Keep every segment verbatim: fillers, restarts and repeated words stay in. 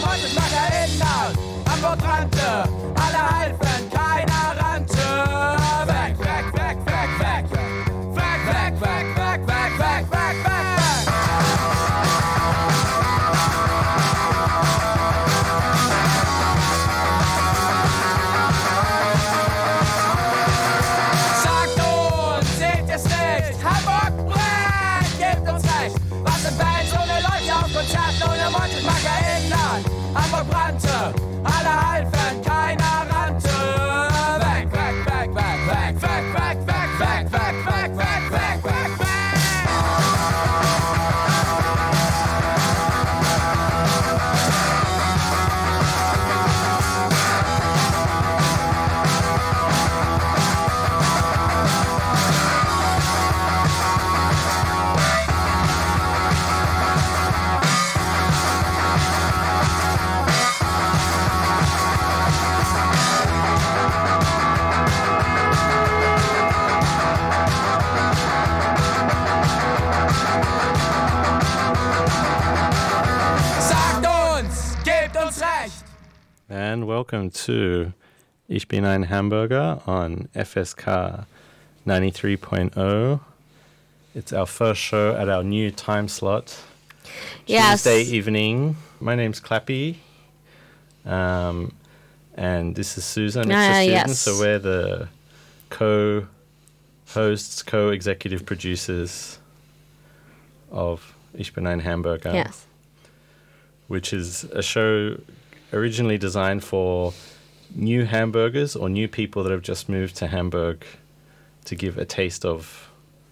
ohne Mord und Macker erinnert. Hamburg brannte, alle halfen, keiner rannte. Weg, weg, weg, weg, weg. Weg, weg, weg, weg, weg, weg, weg, weg. Sagt uns, seht ihr's nicht? Hamburg brennt, gebt uns recht. Was sind Bands ohne Leute auf Konzerten ohne Mord und Macker erinnert? Hamburg brannte, alle halfen, keiner rannte. Weg, weg, weg, weg, weg, weg, weg, weg, weg, weg, weg, weg, weg, weg, weg. Sagt uns, gebt uns recht. And welcome to Ich bin ein Hamburger on F S K ninety-three point oh. It's our first show at our new time slot. Yes. Tuesday evening. My name's Clappy. Um, and this is Susan. It's Ah, Susan. yes. So we're the co-hosts, co-executive producers of Ich bin ein Hamburger. Yes. Which is a show originally designed for new Hamburgers or new people that have just moved to Hamburg to give a taste of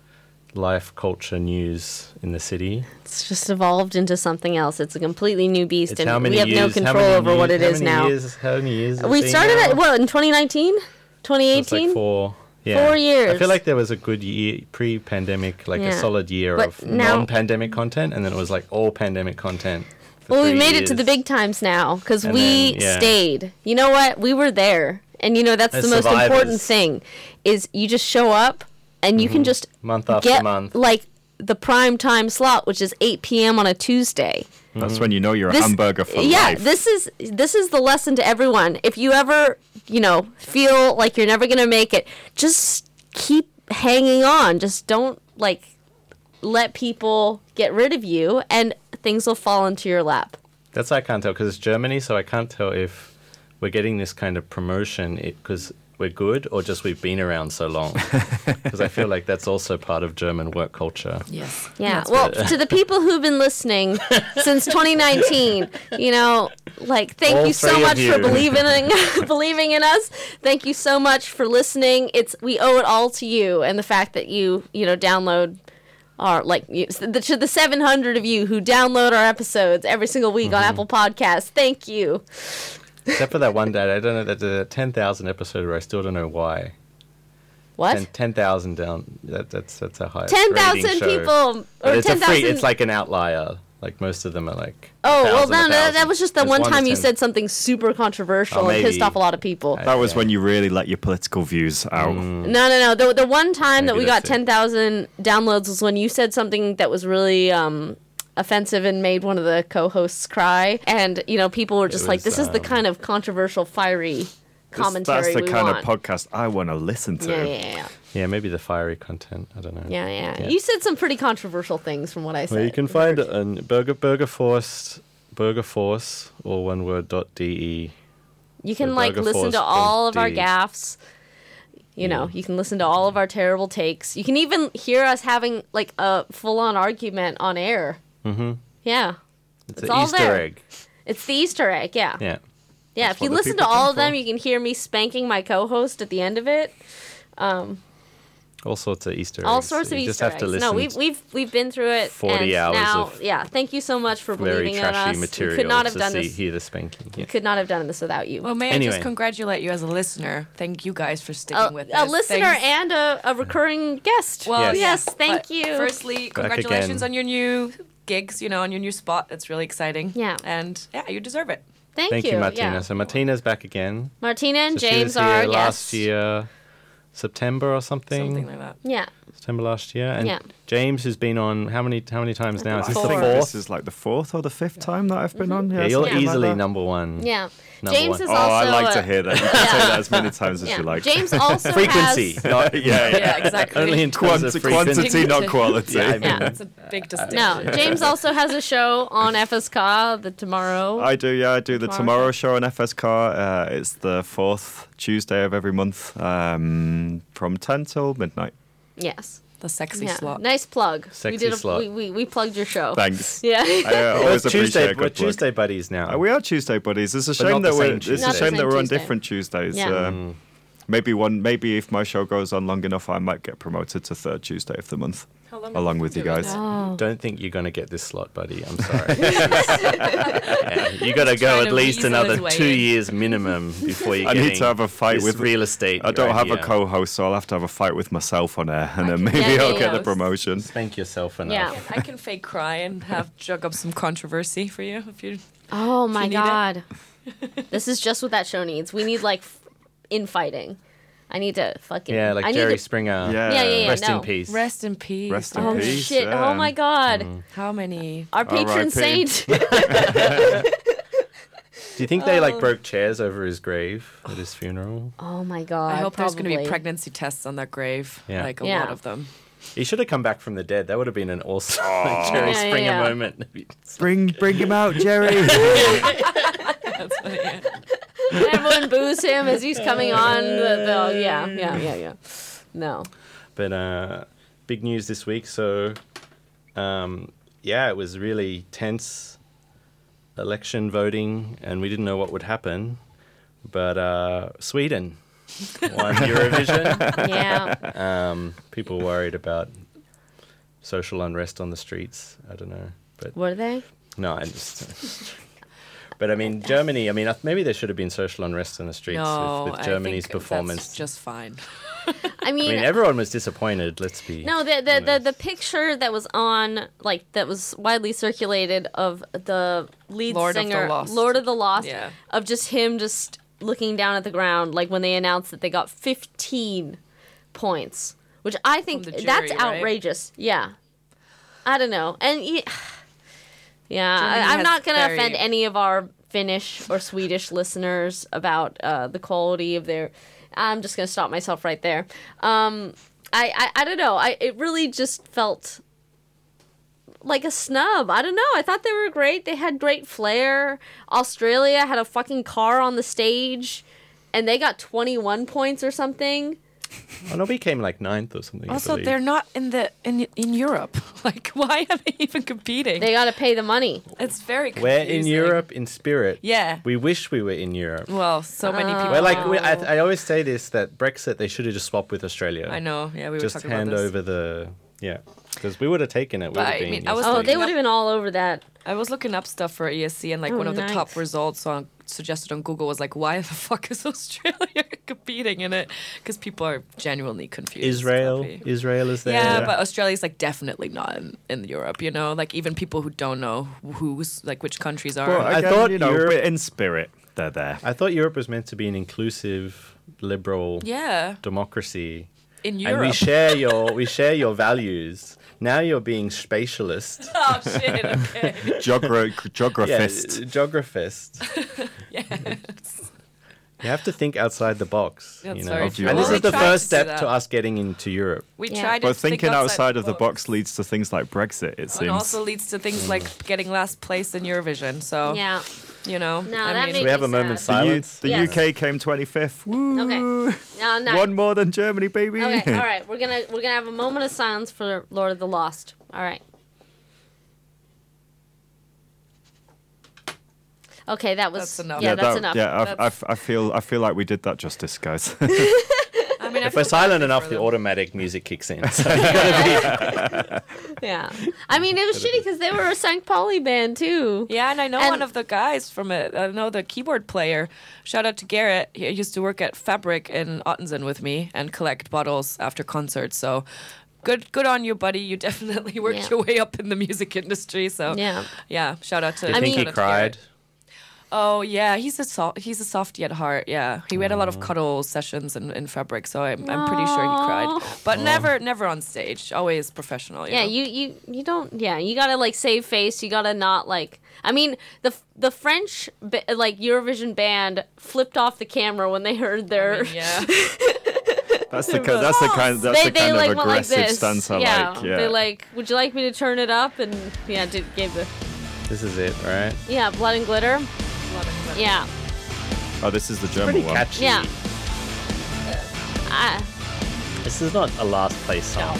life, culture, news in the city. It's just evolved into something else. It's a completely new beast, It's and how many we have years, no how control many over what years- it how is many now. Years, how many years? has We it been started now? at, what, in twenty nineteen? twenty So it's eighteen? like four, yeah. Four years. I feel like there was a good year, pre-pandemic, like Yeah. a solid year But of now- non-pandemic content, and then it was like all pandemic content. for Well, we three made it to the years. big times now, because And we then, yeah. stayed. You know what? We were there. And, you know, that's As the most survivors. important thing, is you just show up, and you can just Month after get, month. like, the prime time slot, which is eight p.m. on a Tuesday. That's when you know you're a This- hamburger for yeah, life. this is this is the lesson to everyone. If you ever, you know, feel like you're never gonna make it, just keep hanging on. Just don't like let people get rid of you, and things will fall into your lap. That's I can't tell because it's Germany, so I can't tell if we're getting this kind of promotion because we're good or just we've been around so long. Because I feel like that's also part of German work culture. Yes. Yeah. Well, to the people who've been listening since twenty nineteen, you know, like thank All you so three of much you. for believing in, believing in us. Thank you so much for listening. It's we owe it all to you and the fact that you, you know, download our like you, the, to the seven hundred of you who download our episodes every single week Mm-hmm. on Apple Podcasts. Thank you. Except for that one day, I don't know, that the ten thousand episode where I still don't know why. What? ten thousand down, that, that's that's a high ten thousand people But or it's ten a free, thousand. it's like an outlier. Like most of them are like Oh, well, thousand, no, a no, that thousand. was just the There's one to time you ten. said something super controversial Oh, and pissed maybe. off a lot of people. I- That was yeah. when you really let your political views out. Mm. No, no, no. The the one time that Maybe we got that's it. ten thousand downloads was when you said something that was really um, offensive and made one of the co-hosts cry. And, you know, people were just like, was, this is the um, kind of controversial, fiery This- commentary That's the we kind want. of podcast I want to listen to. yeah, yeah, yeah. Yeah, maybe the fiery content. I don't know. Yeah, yeah. Yeah. You said some pretty controversial things from what I said. Well, you can find it on Burger Burger Force, Burger Force, or one word dot de. You can, So like, listen to all of our burgerforce.de. gaffes. You know, Yeah. you can listen to all of our terrible takes. You can even hear us having, like, a full-on argument on air. Mm-hmm. Yeah. It's, It's an all Easter there. egg. It's the Easter egg, yeah. Yeah. Yeah, That's if you what the listen to people all come of them, for. you can hear me spanking my co-host at the end of it. Um, All sorts of Easter eggs. all sorts of you Easter just have eggs. to listen. No, we've we've we've been through it. forty and hours now, of yeah. Thank you so much for very believing in trashy us. We material could not have to done see, this. hear the spanking. Yeah. We could not have done this without you. Well, may I Anyway. just congratulate you as a listener? Thank you guys for sticking a, with a this. listener Thanks. and a, a recurring guest. Well, Yes. yes, yeah, thank but you. Firstly, congratulations again. on your new gigs. You know, on your new spot. That's really exciting. Yeah. And yeah, you deserve it. Thank, Thank you, Martina. Yeah. So Martina's back again. Martina and So she James was are here our last guests. year, September or something. Something like that. Yeah. September last year. And Yeah. James has been on how many how many times now? Is this I the think fourth? this is like the fourth or the fifth time that I've been on. Yeah, you're something like easily that. number one. Yeah. Number James one. is Oh, also. I like a- to hear that. You can say that as many times as Yeah. you like. James also Frequency. has. Not, yeah, yeah. Yeah, exactly. Only in terms of Quanti- frequency. quantity, not quality. Yeah, I mean, Yeah. It's a big distinction. No, James also has a show on F S K the tomorrow. I do, yeah. I do the Tomorrow Tomorrow Show on F S K. Uh, it's the fourth Tuesday of every month, um, from ten till midnight. Yes. The sexy Yeah. slot. Nice plug. we Sexy did a, slot. We, we we plugged your show. Thanks. Yeah. I uh, Well, always it's appreciate Tuesday, a we're good plug. Tuesday buddies now. Uh, we are Tuesday buddies. It's a But shame not the that we're same it's Tuesday. a Not the shame same that we're on Tuesday. different Tuesdays. Yeah. Um, maybe one maybe if my show goes on long enough, I might get promoted to third Tuesday of the month, How long along have with you been doing guys. that? Oh. Don't think you're going to get this slot, buddy. I'm sorry. Yeah, you got to go trying at to least weasel another his way two in. years minimum before you I get need to have a fight this with real estate. I don't right have here. a co-host, so I'll have to have a fight with myself on air, and then can- maybe Yeah, I'll yeah, get yeah. the promotion. Spank yourself enough. Yeah. I can fake cry and have jug up some controversy for you if you. Oh my need it. god. This is just what that show needs. We need like f- infighting. I need to fucking. Yeah, like I Jerry need to, Springer. Yeah. Yeah, yeah, yeah. Rest no. in peace. Rest in peace. Rest in Oh peace. shit! yeah. Oh my god! How many? Our patron R I P. saint. Do you think they Oh. like broke chairs over his grave at his funeral? Oh my god! I hope there's going to be probably. pregnancy tests on that grave. Yeah. Like a Yeah. lot of them. He should have come back from the dead. That would have been an awesome like, Jerry Yeah, yeah, Springer yeah. moment. Bring bring him out, Jerry. That's funny. Yeah. Everyone boos him as he's coming on. The, the, yeah, yeah, yeah, yeah. No. But uh, big news this week. So, um, yeah, it was really tense election voting, and we didn't know what would happen. But uh, Sweden won Eurovision. Yeah. Um, people worried about social unrest on the streets. I don't know, but Were they? no, I just. But I mean, Germany. I mean, uh, maybe there should have been social unrest in the streets No, with, with I Germany's think performance. That's just fine. I mean, I mean, everyone was disappointed. Let's be. no, the the, the honest. the picture that was on, like, that was widely circulated of the lead Lord of the singer, Lost. Lord of the Lost, Yeah. of just him just looking down at the ground, like when they announced that they got fifteen points, which I think From the that's jury, right? outrageous. Yeah, I don't know, and yeah, yeah Germany I, I'm has not gonna very- offend any of our Finnish or Swedish listeners about uh, the quality of their. I'm just gonna stop myself right there. Um, I, I I don't know. I it really just felt like a snub. I don't know. I thought they were great. They had great flair. Australia had a fucking car on the stage, and they got twenty-one points or something. Oh no, we came like ninth or something. I Also, believe. they're not in the in in Europe. Like, why are they even competing? They got to pay the money. It's very confusing. We're in Europe in spirit. Yeah. We wish we were in Europe. Well, so many Uh, people. We're like, we, I, Oh. I always say this, that Brexit, they should have just swapped with Australia. I know. Yeah, we were Just talking hand about this. over the, yeah. Because we would have taken it. We But would I have been. mean, I was Oh, yesterday. they looking would have been all over that. I was looking up stuff for E S C, and like Oh, one of the top nice. results on suggested on Google was like, why the fuck is Australia competing in it? Because people are genuinely confused. Israel. probably. Israel is there. Yeah, but Australia's like definitely not in, in Europe, you know? Like even people who don't know who's like which countries are. Well, I again, thought you know, Europe- but in spirit, they're there. I thought Europe was meant to be an inclusive, liberal yeah, democracy. in And Europe. we share your we share your values. Now you're being spatialist. oh shit! Okay. Geogra- Yeah, geographist. geographist. Yes. You have to think outside the box. That's you know? very Of true. your And this Well, is we the tried first to do step that. to us getting into Europe. We Yeah. tried to But think thinking outside of the box. box leads to things like Brexit, it And seems. also leads to things like getting last place in Eurovision. So Yeah. you know, No, I that mean, made we have me a moment's sad. the U- silence? the Yes. U K came twenty-fifth. Woo! Okay. No, no. One more than Germany, baby. Okay, all right. We're gonna we're gonna have a moment of silence for Lord of the Lost. All right. Okay, that was That's enough. Yeah, that's that- enough. Yeah, I, That's- I, I feel I feel like we did that justice, guys. I mean, I If feel we're silent badly enough, for the them. automatic music kicks in. So Yeah. I mean, it was shitty because they were a Saint Pauli band too. Yeah, and I know And- one of the guys from it. I know the keyboard player. Shout out to Garrett. He used to work at Fabric in Ottensen with me and collect bottles after concerts. So good, good on you, buddy. You definitely worked Yeah. your way up in the music industry. So Yeah. yeah. Shout out to. I I think mean- he shout out to cried. Garrett. Oh yeah, he's a so- he's a softie at heart. Yeah, he had a lot of cuddle sessions in, in Fabric, so I'm, I'm pretty sure he cried, but never never on stage. Always professional. You Yeah, know? you, you you don't. Yeah, you gotta like save face. You gotta not like. I mean, the the French ba- like Eurovision band flipped off the camera when they heard their. I mean, yeah. That's the ki- that's the kind that's they the kind they like of went like aggressive this. stance I yeah, like. Yeah. they like. Would you like me to turn it up? And yeah, did gave the This is it, right? yeah blood and glitter. Yeah, Oh, this is the German Pretty one. catchy. yeah. I, This is not a last place song.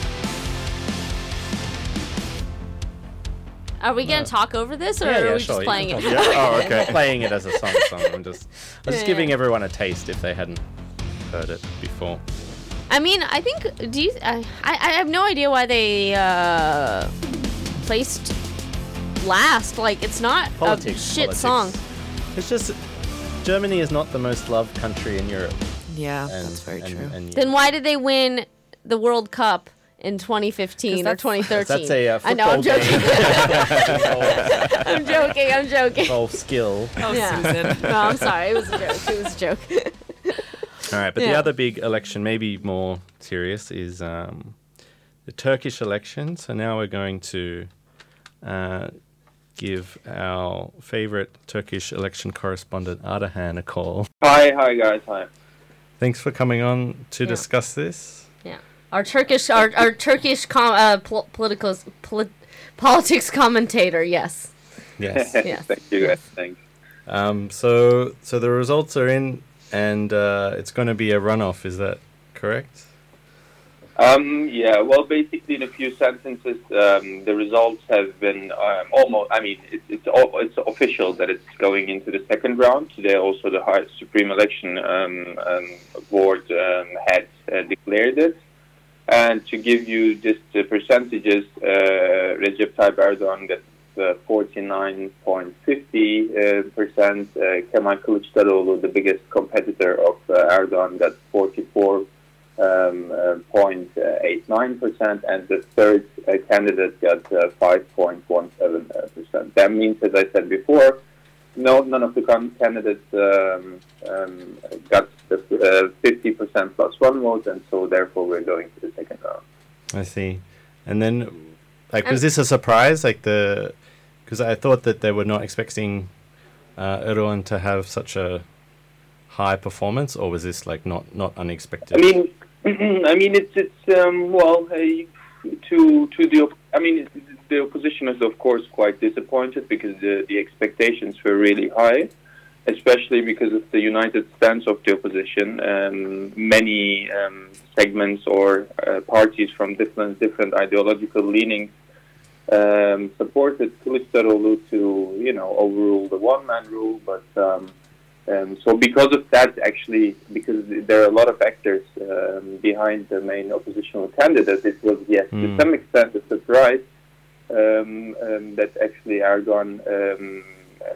are we gonna talk over this, or Yeah, yeah, are we sure, just you playing can it? talk. Yeah. Oh, I'm okay. not playing it as a song song. I'm just, I'm just Yeah. giving everyone a taste if they hadn't heard it before. I mean, I think. Do you? I I I have no idea why they uh, placed last. Like, it's not Politics. a shit politics. song. It's just Germany is not the most loved country in Europe. Yeah, And, that's very and, true. And, Then why did they win the World Cup in twenty fifteen or that's- twenty thirteen? that's a uh, I know, I'm football joking. game. I'm joking. I'm joking. Golf skill. oh, Yeah. Susan. No, I'm sorry. It was a joke. It was a joke. All right, but the Yeah. other big election, maybe more serious, is um, the Turkish election. So now we're going to uh, give our favorite Turkish election correspondent, Ardahan, a call. Hi, hi guys, hi. Thanks for coming on to Yeah. discuss this. Yeah. Our Turkish, our, our Turkish com, uh, pol- political, polit- politics commentator. Yes. Yes. Yes. Thank you guys, thanks. um, so, so the results are in, and uh, it's going to be a runoff. Is that correct? Um, yeah, well, basically, in a few sentences, um, the results have been um, almost. I mean, it's it's all, it's official that it's going into the second round. Today, also the High Supreme Election um, um, Board um, had uh, declared it. And to give you just the percentages, uh, Recep Tayyip Erdogan got uh, forty-nine point five zero percent. Uh, Kemal Kılıçdaroğlu, the biggest competitor of uh, Erdogan, got forty-four. Um, uh, zero point eight nine percent, and the third uh, candidate got uh, five point one seven percent. That means, as I said before, no, none of the con- candidates um, um, got the uh, fifty percent plus one vote, and so therefore we're going to the second round. I see. And then, like, was this a surprise? Like the, because I thought that they were not expecting uh, Erdogan to have such a high performance, or was this like not not unexpected? I mean, I mean, it's it's um, well uh, to to the op- I mean the opposition is of course quite disappointed because the the expectations were really high, especially because of the united stance of the opposition. Um, many um, segments or uh, parties from different different ideological leanings um, supported Kılıçdaroğlu to you know overrule the one man rule, but. Um, Um, so because of that, actually, because there are a lot of actors um, behind the main oppositional candidate, it was, yes, Mm. to some extent a surprise um, um, that actually Erdogan um,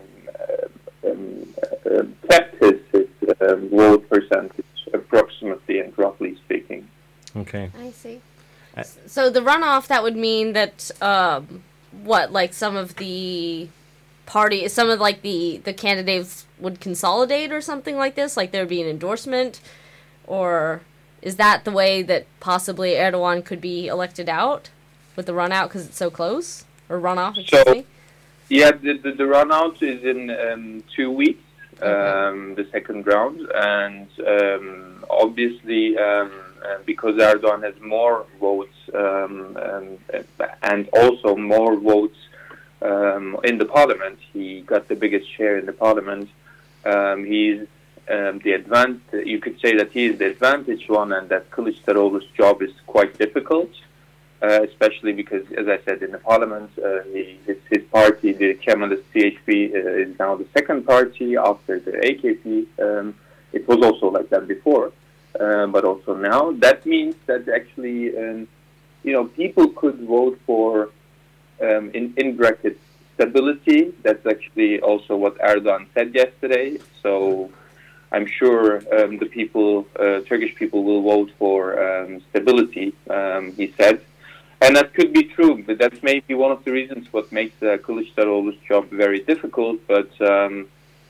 um, um, uh, kept his, his um, vote percentage approximately and roughly speaking. Okay. I see. I- So the runoff, that would mean that um, what, like some of the party, some of like the the candidates would consolidate or something like this, like there would be an endorsement, or is that the way that possibly Erdogan could be elected out with the run out because it's so close, or runoff? Excuse So- me. Yeah, the, the, the runout is in um, two weeks, um, the second round, and um, obviously um, uh, because Erdogan has more votes um, um, and also more votes um, in the parliament, he got the biggest share in the parliament. Um, he's um, the advan- You could say that he is the advantaged one, and that Kılıçdaroğlu's job is quite difficult. Uh, especially because, as I said, in the parliament, uh, he, his, his party, the Kemalist C H P, uh, is now the second party after the A K P. Um, it was also like that before, uh, but also now. That means that actually, um, you know, people could vote for, um, in, in brackets, stability. That's actually also what Erdogan said yesterday. So I'm sure um, the people, uh, Turkish people, will vote for um, stability, um, he said. And that could be true, but that's maybe one of the reasons what makes uh, Kılıçdaroğlu's job very difficult. But um,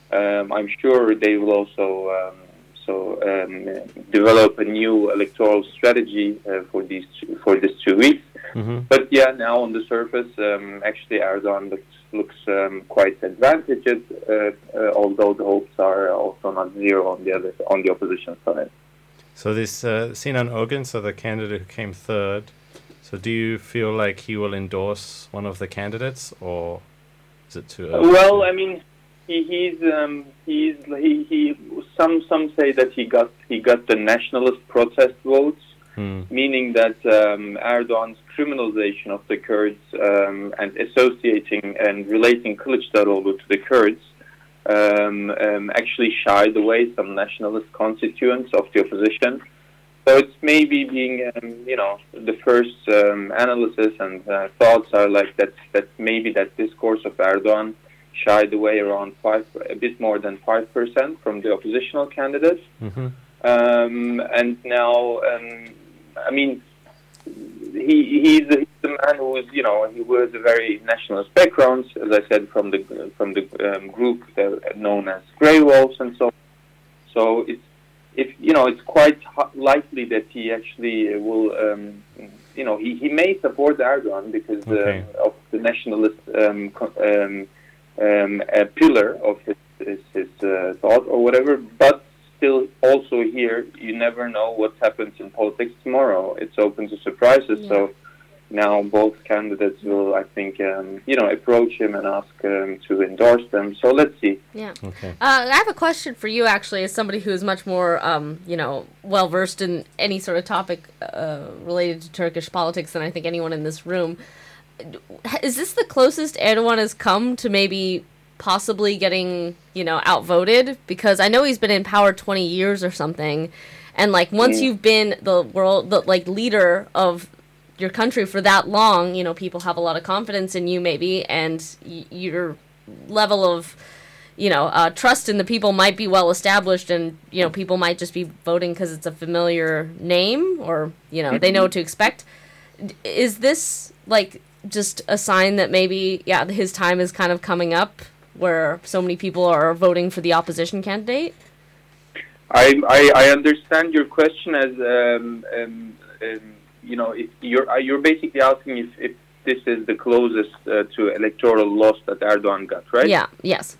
um, I'm sure they will also um, so um, develop a new electoral strategy uh, for these two, for these two weeks. Mm-hmm. But yeah, now on the surface, um, actually Erdogan looks looks um, quite advantaged, uh, uh, although the hopes are also not zero on the other on the opposition side. So this uh, Sinan Ogun, so the candidate who came third. So do you feel like he will endorse one of the candidates, or is it too early? Well, I mean, he, he's um, he's he, he some some say that he got he got the nationalist protest votes, Hmm. meaning that um, Erdogan's criminalization of the Kurds um, and associating and relating Kılıçdaroğlu to the Kurds um, um, actually shied away some nationalist constituents of the opposition. So it's maybe being, um, you know, the first um, analysis and uh, thoughts are like that. That maybe that discourse of Erdogan shied away around five, a bit more than five percent from the oppositional candidates. Mm-hmm. Um, and now, um, I mean, he he's a, he's a man who is, you know, he was a very nationalist background, as I said, from the from the um, group that, known as Grey Wolves and so on. So it's if you know, it's quite likely that he actually will, um, you know, he, he may support Erdogan because Okay. uh, of the nationalist um, co- um, um, uh, pillar of his his, his uh, thought or whatever, but. Still, also here, you never know what happens in politics tomorrow. It's open to surprises. Yeah. So now both candidates will, I think, um, you know, approach him and ask um, to endorse them. So let's see. Yeah. Okay. Uh, I have a question for you, actually, as somebody who is much more, um, you know, well versed in any sort of topic uh, related to Turkish politics than I think anyone in this room. Is this the closest Erdogan has come to maybe possibly getting, you know, outvoted? Because I know he's been in power twenty years or something, and like once Mm. you've been the world, the like leader of your country for that long, you know, people have a lot of confidence in you, maybe, and y- your level of, you know, uh, trust in the people might be well established, and you know, people might just be voting because it's a familiar name, or you know, they know what to expect. D- Is this like just a sign that maybe, yeah, his time is kind of coming up, where so many people are voting for the opposition candidate? I, I, I understand your question as, um, um, um, you know, if you're uh, you're basically asking if, if this is the closest uh, to electoral loss that Erdogan got, right? Yeah, yes.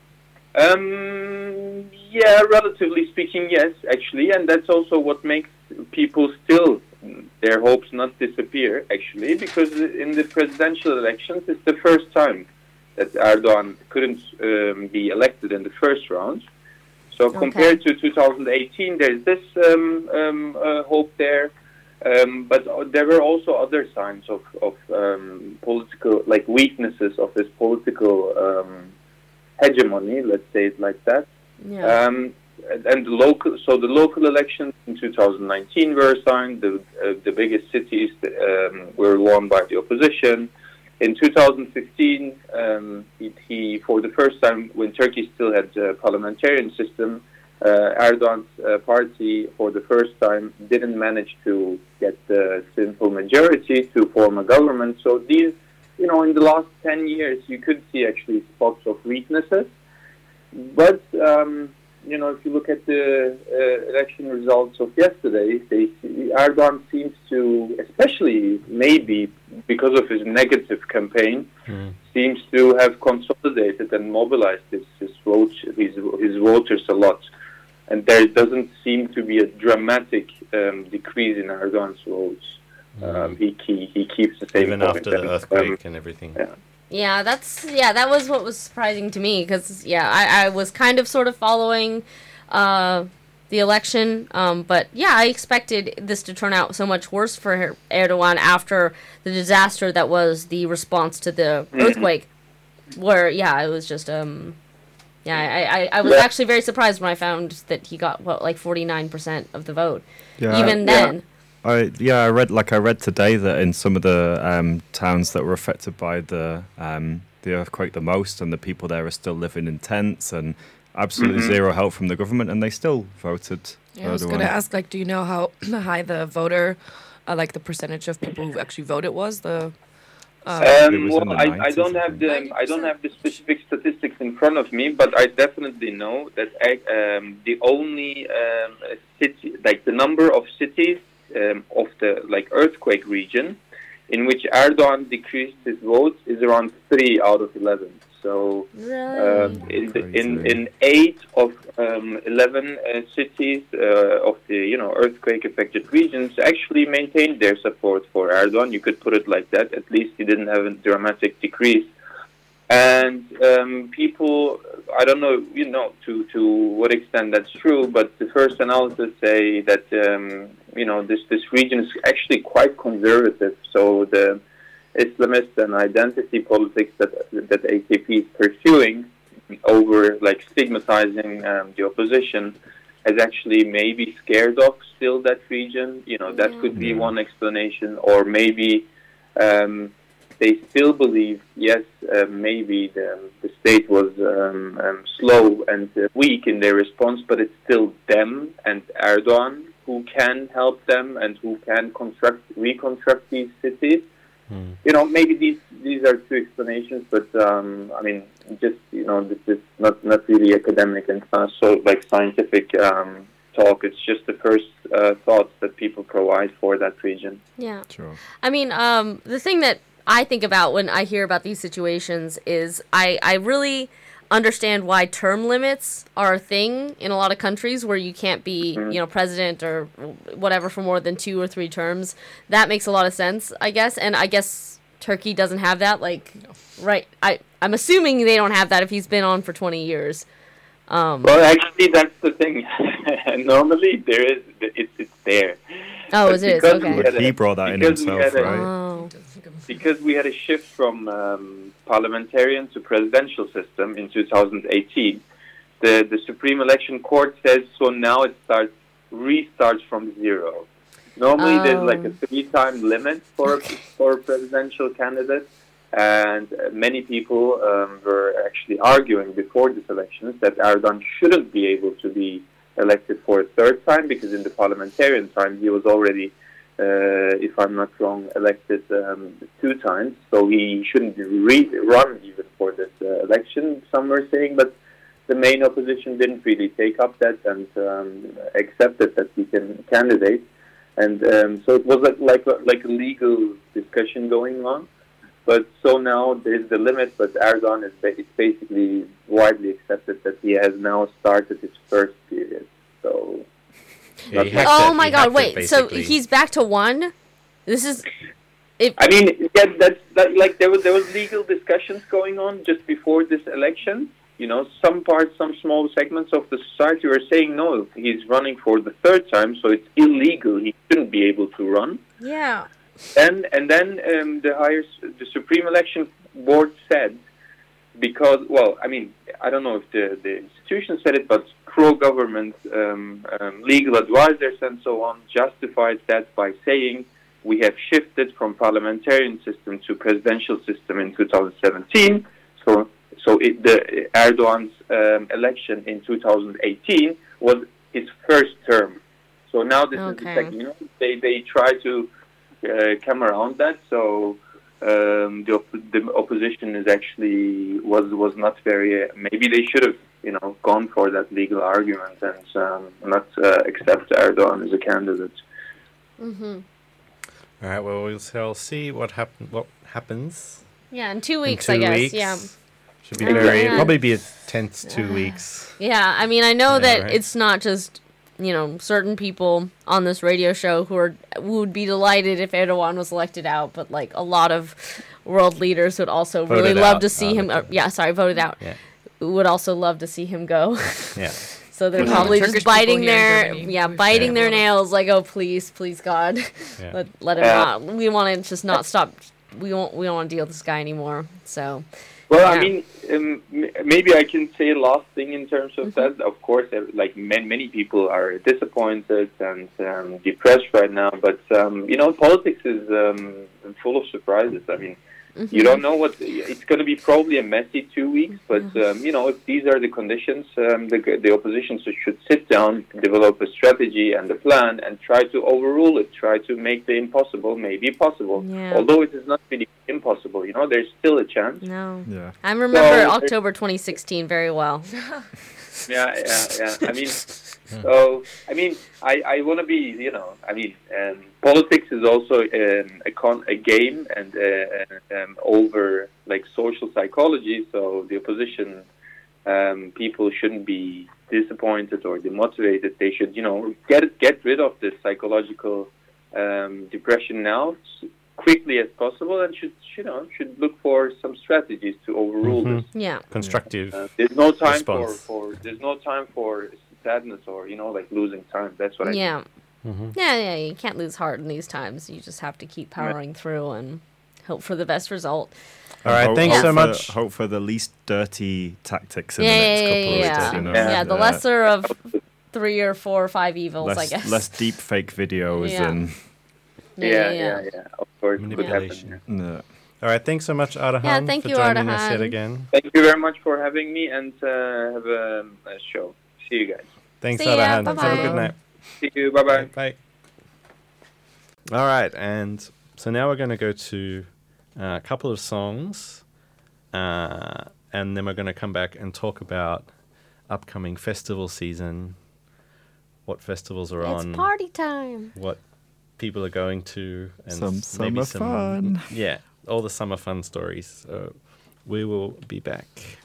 Um, yeah, relatively speaking, yes, actually, and that's also what makes people still their hopes not disappear, actually, because in the presidential elections, it's the first time that Erdogan couldn't um, be elected in the first round. So Okay. compared to two thousand eighteen, there's this um, um, uh, hope there. Um, but uh, there were also other signs of, of um, political, like weaknesses of his political um, hegemony, let's say it like that. Yeah. Um, and and the local, so the local elections in two thousand nineteen were signed. The uh, the biggest cities um, were won by the opposition. In two thousand fifteen, um, he, he for the first time, when Turkey still had a parliamentarian system, uh, Erdogan's uh, party for the first time didn't manage to get the simple majority to form a government. So these, you know, in the last ten years, you could see actually spots of weaknesses. But um, you know, if you look at the uh, election results of yesterday, they, Erdogan seems to, especially maybe because of his negative campaign, Mm. seems to have consolidated and mobilized his his, vote, his, his voters a lot. And there doesn't seem to be a dramatic um, decrease in Erdogan's votes. Um, he, he he keeps the same Even point. after the And, earthquake um, and everything. yeah. Yeah, that's yeah, that was what was surprising to me, because yeah, I, I was kind of sort of following uh, the election, um, but yeah, I expected this to turn out so much worse for Erdogan after the disaster that was the response to the earthquake, where yeah, it was just um, yeah, I, I, I was Yeah. actually very surprised when I found that he got what like forty-nine percent of the vote. Yeah, Even Yeah. then, I yeah, I read like I read today that in some of the um, towns that were affected by the um, the earthquake the most, and the people there are still living in tents and absolutely Mhm. zero help from the government, and they still voted. Yeah, I was Erdogan. going to ask, like, do you know how high the voter, uh, like the percentage of people who actually voted was? The Um, It was in well, the I, I nineties, don't I have think. the I don't have the specific statistics in front of me, but I definitely know that um, the only um, city, like the number of cities um, of the like earthquake region, in which Erdogan decreased his votes, is around three out of eleven. So um, in, the, in in eight of um, eleven uh, cities uh, of the you know earthquake affected regions actually maintained their support for Erdogan. You could put it like that. At least he didn't have a dramatic decrease. And um, people, I don't know, you know, to, to what extent that's true, but the first analysis say that um, you know this this region is actually quite conservative. So the Islamist and identity politics that that A K P is pursuing over like stigmatizing um, the opposition has actually maybe scared off still that region. You know, that could be Yeah. one explanation, or maybe um, they still believe, yes, uh, maybe the, the state was um, um, slow and uh, weak in their response, but it's still them and Erdogan who can help them and who can construct, reconstruct these cities. Hmm. You know, maybe these these are two explanations, but um, I mean, just you know, this is not not really academic and uh, so like scientific um, talk. It's just the first uh, thoughts that people provide for that region. Yeah. Sure. I mean, um, the thing that I think about when I hear about these situations is I, I really understand why term limits are a thing in a lot of countries where you can't be, you know, president or whatever for more than two or three terms. That makes a lot of sense, I guess. And I guess Turkey doesn't have that. Like, right. I, I'm assuming they don't have that if he's been on for twenty years. Um, Well, actually, that's the thing. Normally, there is it's it's there. oh, But it is? because we Okay. had a- He brought that in because we himself, had a- right? Oh. Because we had a shift from um, parliamentarian to presidential system in two thousand eighteen, the, the Supreme Election Court says so now it starts restarts from zero. Normally there's like a Oh. three-time limit for for presidential candidates, and uh, many people um, were actually arguing before this election that Erdogan shouldn't be able to be elected for a third time because in the parliamentarian time he was already Uh, if I'm not wrong, elected um, two times, so he shouldn't re- run even for this uh, election, some were saying, but the main opposition didn't really take up that and um, accepted that he can candidate. And um, so it was like, like, a, like a legal discussion going on. But so now there's the limit, but Erdogan is ba- it's basically widely accepted that he has now started his first period. So... Yeah, he hacked Oh it- my he god, hacked it, wait. So basically. he's back to one? This is... If, I mean, yeah, that's that, like there was there was legal discussions going on just before this election. You know, some parts, some small segments of the society were saying no, he's running for the third time, so it's illegal. He shouldn't be able to run. yeah. And and then um, the higher, the Supreme Election Board said, because well, I mean, I don't know if the the institution said it, but pro-government um, um, legal advisors and so on justified that by saying, we have shifted from parliamentarian system to presidential system in two thousand seventeen. So, so it, the Erdogan's um, election in two thousand eighteen was his first term. So now this is the Okay. second. You know, they they try to uh, come around that. So um, the op- the opposition is actually was was not very. Uh, maybe they should have you know gone for that legal argument and um, not uh, accept Erdogan as a candidate. Mm-hmm. All right. Well, we'll shall see what happen. What happens Yeah, in two in weeks, two I guess. weeks. Yeah. Should be Oh, very man. probably be a tense two weeks. Yeah, I mean, I know Yeah, that right. it's not just, you know, certain people on this radio show who are who would be delighted if Erdogan was elected out, but like a lot of world leaders would also really Voted love out. to see Oh, him. okay. Uh, yeah, sorry, voted out. Yeah. Would also love to see him go. Yeah. So they're Yeah. probably Turkish just people biting here in their Germany yeah, wish biting they their would. nails like, oh please, please God, Yeah. let let him Yeah. not. We want to just not stop. We won't we don't want to deal with this guy anymore. So Well, Yeah. I mean, um, m- maybe I can say a last thing in terms of that. Of course, uh, like many, many people are disappointed and um, depressed right now. But um, you know, politics is um, full of surprises. I mean, Mm-hmm. You don't know what it's going to be. Probably a messy two weeks, but um, you know, if these are the conditions, um, the the opposition should sit down, develop a strategy and a plan, and try to overrule it. Try to make the impossible maybe possible. Yeah. Although it is not really impossible, you know, there's still a chance. No. Yeah. I remember So- October twenty sixteen very well. Yeah, yeah, yeah. I mean, so I mean, I, I want to be, you know, I mean, um, politics is also um, a con a game and uh, um, over like social psychology. So the opposition um, people shouldn't be disappointed or demotivated. They should, you know, get get rid of this psychological um, depression now s- quickly as possible, and should, you know, should look for some strategies to overrule Mhm. this. Yeah. Constructive. Uh, there's no time for, Response. for there's no time for sadness or, you know, like losing time. That's what I Yeah. Mhm. Yeah, yeah, you can't lose heart in these times. You just have to keep powering through and hope for the best result. All right, Hope- thanks hope so for- much. Hope for the least dirty tactics in Yeah, the next yeah, couple yeah, of yeah. weeks. You know? Yeah. Yeah, the Uh, lesser of three or four or five evils, I less, guess. less deep think videos Yeah. and Yeah, yeah, yeah. Of course, it could happen. Manipulation. yeah. no. All right, thanks so much, Ardahan, Yeah, thank for you, joining us Ardahan. yet again. Thank you very much for having me, and uh, have a, a show. See you guys. Thanks, See ya, Ardahan. Have a bye-bye. good night. See you. Bye bye. Bye. All right, and so now we're going to go to uh, a couple of songs, uh, and then we're going to come back and talk about upcoming festival season, what festivals are It's on, party time. what people are going to, and Some s- summer maybe some fun. Yeah, all the summer fun stories. So we will be back.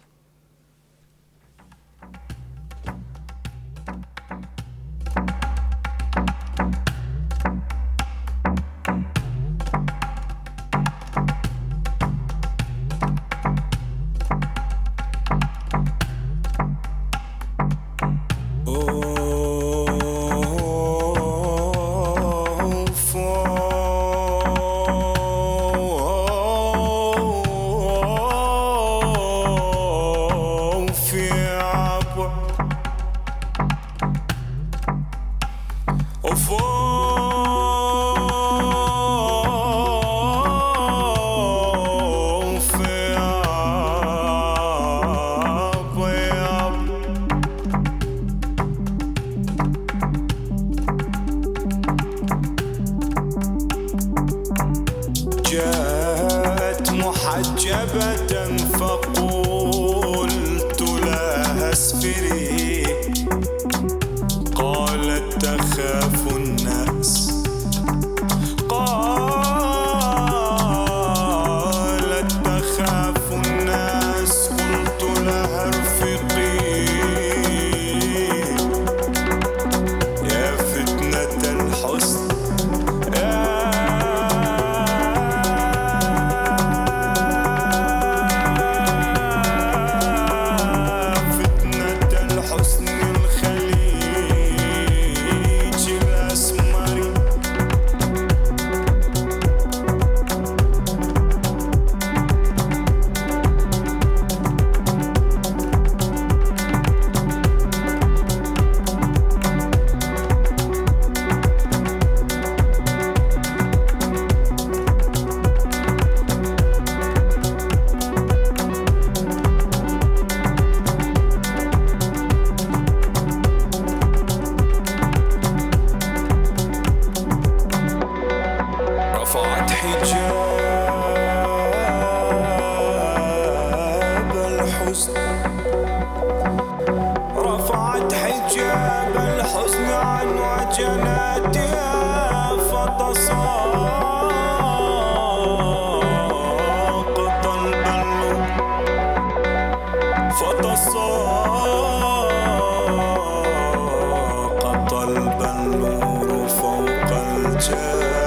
جاءت محجبة فقلت لها اسفري قالت تخاف الناس قالت تخاف الناس قلت لها ارفقي يا فتنة الحسن فتنة الحسن الخليج الأسمر رفعت حجاب الحزن رفعت حجاب الحزن عن وجناتها فتساقط البل فتساقط البلور فوق الجوهر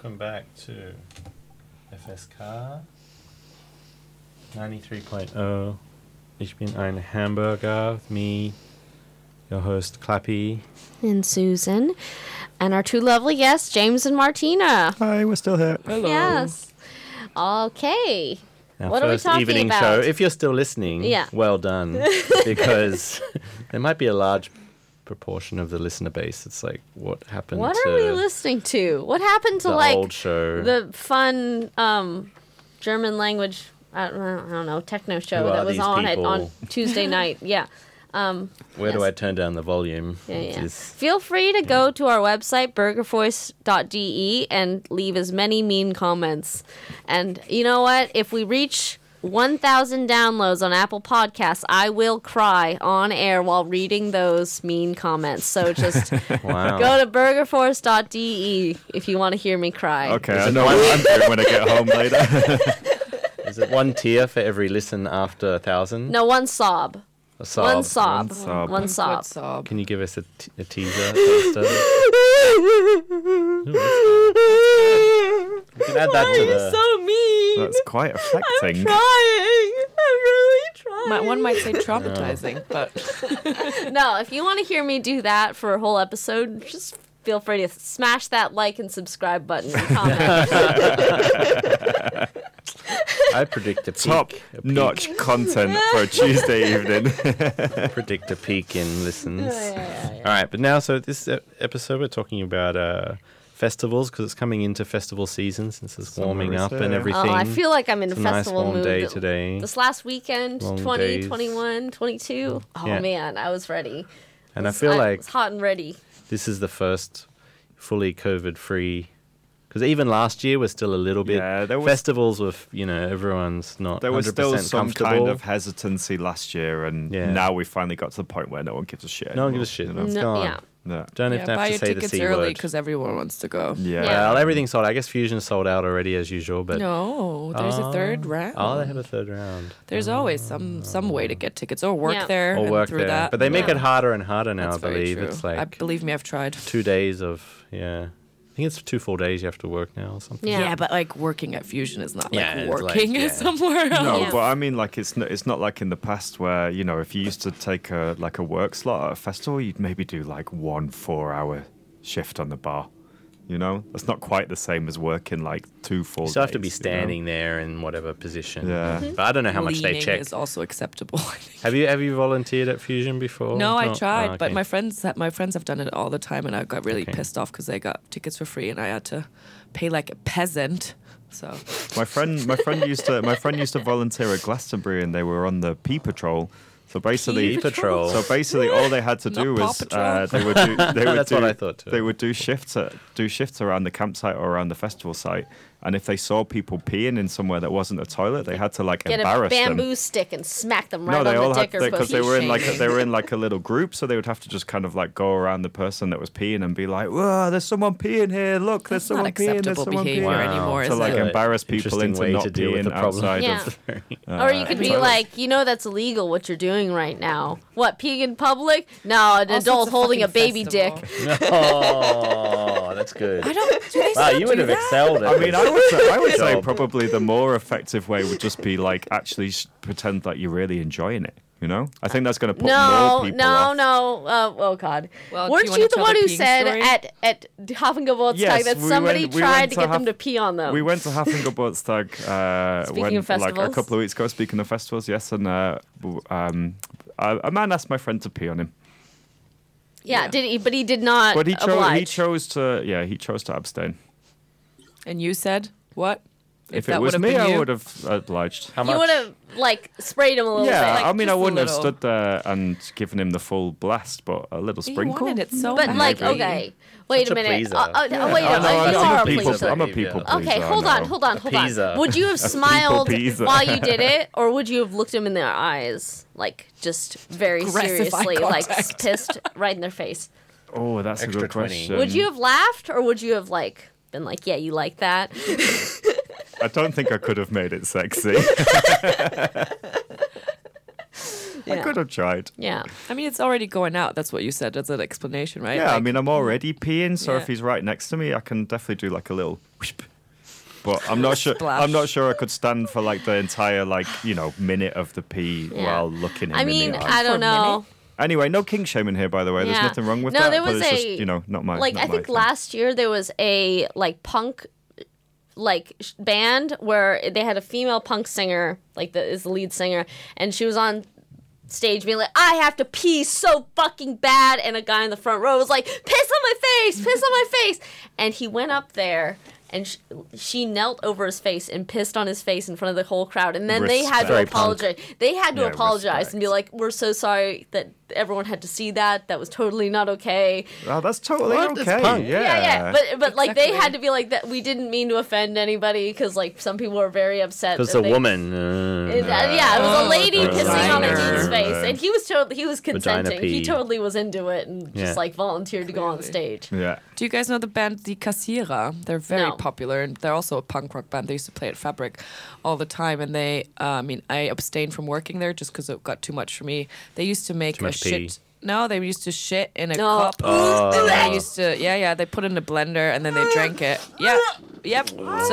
welcome back to F S K ninety-three point oh. Ich bin ein Hamburger with me, your host Clappy. And Susan. And our two lovely guests, James and Martina. Hi, we're still here. Hello. Yes. Okay. Our What are we first talking evening about? show. If you're still listening, Yeah. well done. Because there might be a large proportion of the listener base. It's like, what happened What to are we listening to? What happened to the like old show? the fun um, German language? I don't, I don't know techno show Who are that was these on it people? on Tuesday night. Yeah. Um, Where do yes. I turn down the volume? Yeah, Which yeah. is- Feel free to go to our website, burger voice dot d e, and leave as many mean comments. And you know what? If we reach one thousand downloads on Apple Podcasts, I will cry on air while reading those mean comments. So just wow. go to burger force dot d e if you want to hear me cry. Okay, Is I it know one- what I'm doing when I get home later. Is it one tear for every listen after a thousand? No, one sob. A sob. One sob. One sob. One sob. Good sob. Can you give us a, t- a teaser? taster? We can add that Why to are you the. so mean? That's quite I'm affecting. trying. I'm really trying. My, one might say traumatizing, but No, if you want to hear me do that for a whole episode, just feel free to smash that like and subscribe button and comment. I predict a peak. Top a peak, notch content for a Tuesday evening. Predict a peak in listens. Yeah, yeah, yeah. All right, but now, so this e- episode we're talking about uh, festivals because it's coming into festival season since it's Summer warming is up and here. everything. Oh, I feel like I'm in It's a a nice festival warm mood. day today. This last weekend, Long twenty, days. twenty-one, twenty-two. Oh Yeah. man, I was ready. And I was- feel I like was hot and ready. this is the first fully COVID-free. Because even last year was still a little bit. Yeah, there was- festivals with, you know, everyone's not There was one hundred percent still some comfortable. kind of hesitancy last year, and Yeah. now we finally got to the point where no one gives a shit. No one anymore, gives a shit. you know? It's No, gone. yeah. No. Don't yeah, have to, buy have your to say the tickets C early word. because everyone wants to go. Yeah. Yeah. Well, everything's sold. I guess Fusion's sold out already as usual, but No, there's a third round. oh, they have a third round. There's always some some way to get tickets or work Yeah. there Or and work through there, that. but they make Yeah. it harder and harder now. That's I very believe true. it's like I believe me, I've tried. two days of yeah. I think it's two full days you have to work now or something. Yeah. Yeah. but like working at Fusion is not Yeah, like it's like- working yeah. somewhere else. No, Yeah. but I mean, like it's not, it's not like in the past where you know if you used to take a like a work slot at a festival, you'd maybe do like one four-hour shift on the bar. You know, that's not quite the same as working like two full. You still have to be days, you know? standing there in whatever position. Yeah. Mm-hmm. But I don't know how much they Leaning check. is also acceptable. I think. Have you have you volunteered at Fusion before? No, I Oh, tried, oh, but okay. my friends my friends have done it all the time, and I got really Okay. pissed off because they got tickets for free, and I had to pay like a peasant. So My friend, my friend used to, my friend used to volunteer at Glastonbury, and they were on the Pea Patrol. So basically, Pea Patrol. So basically, all they had to do Not Paw was Patrol. uh, they would do. They would That's do, what I thought too. They would do shifts at, do shifts around the campsite or around the festival site, and if they saw people peeing in somewhere that wasn't a toilet, they had to like Get a embarrass bamboo them. stick and smack them right No, on they the all had dick or because they were in like shaming. they were in like a little group, so they would have to just kind of like go around the person that was peeing and be like, "Whoa, there's someone peeing here! Look, there's that's not someone peeing! There's acceptable someone behavior peeing!" Wow. anymore. To is like it? An embarrass people interesting into way not to deal with being the problem. outside Yeah. of. Or you could be toilet. like, you know, that's illegal what you're doing right now. What, peeing in public? No, an Also, adult it's holding a fucking baby festival. dick. Oh, that's good. I don't. Do they Wow, still you would do have that? excelled at I mean, I would say, I would say Job. probably the more effective way would just be like actually s- pretend that you're really enjoying it. You know, I think that's going to put No, more people no, off. no. Uh, oh God! Well, do Weren't you you, wanna the tell one the who peeing said story? at at Hafengeburtstag Yes, that we somebody went- we tried went to to get them Haf- to pee on them? We went to Hafengeburtstag uh, Speaking when, of like a festivals. couple of weeks ago. Speaking of festivals, yes, and uh, w- um, a, a man asked my friend to pee on him, yeah, Yeah. did he? But he did not but he chose oblige. he chose to yeah he chose to abstain. And you said what? If, that it was would've me, been I you? would have obliged. How You much? would have like sprayed him a little Yeah, bit. I mean, I just a wouldn't have little. stood there and given him the full blast, but a little You sprinkle. wanted it so But bad. like, Maybe. okay, wait Such a a minute. pleaser. Uh, uh, Yeah. Wait a I minute. know, you I'm, are a a people, pleaser. I'm a people pleaser. Okay, hold I on, know. hold on, A hold on. pleaser. Would you have smiled pleaser. while you did it, or would you have looked him in their eyes, like just very Aggressive eye seriously, like contact. pissed right in their face? Oh, that's Extra a good twenty. question. Would you have laughed, or would you have like been like, "Yeah, you like that"? I don't think I could have made it sexy. I Yeah. could have tried. Yeah. I mean, it's already going out. That's what you said. That's an explanation, right? Yeah, I Like, mean, I'm already peeing, so Yeah. if he's right next to me, I can definitely do like a little whisp. But I'm not sure. Splash. I'm not sure I could stand for like the entire like you know minute of the pee Yeah. while looking him I in mean, the I eye. don't For a know. Anyway, no kink shaming here, by the way. There's Yeah. nothing wrong with No, that. there but was it's a- just you know not my Like not I my think thing. last year there was a like punk like sh- band where they had a female punk singer, like the is the lead singer, and she was on stage being like, I have to pee so fucking bad, and a guy in the front row was like, piss on my face, piss on my face, and he went up there and sh- she knelt over his face and pissed on his face in front of the whole crowd, and then they had to Respect. Very punk. apologize. They had to Yeah, apologize respect. and be like, we're so sorry that everyone had to see that. That was totally not okay. Oh, that's totally What? It's okay. punk. Yeah, Yeah, yeah, but but like they Exactly. had to be like that. We didn't mean to offend anybody because like some people were very upset. Because that the they- woman. Uh, It- uh, yeah, it was a lady Oh, pissing on a designer. dude's face, Right. and he was totally he was Vagina consenting. He pee. totally was into it and Yeah. just like volunteered to go on Clearly. stage. yeah. Do you guys know the band Die Kassierer? They're very No. popular, and they're also a punk rock band. They used to play at Fabric all the time, and they, uh, I mean, I abstained from working there just because it got too much for me. They used to make Too a much pee. shit. No, they used to shit in a No. cup. And they used to, yeah, yeah, they put it in a blender and then they drank it. Yep, yep.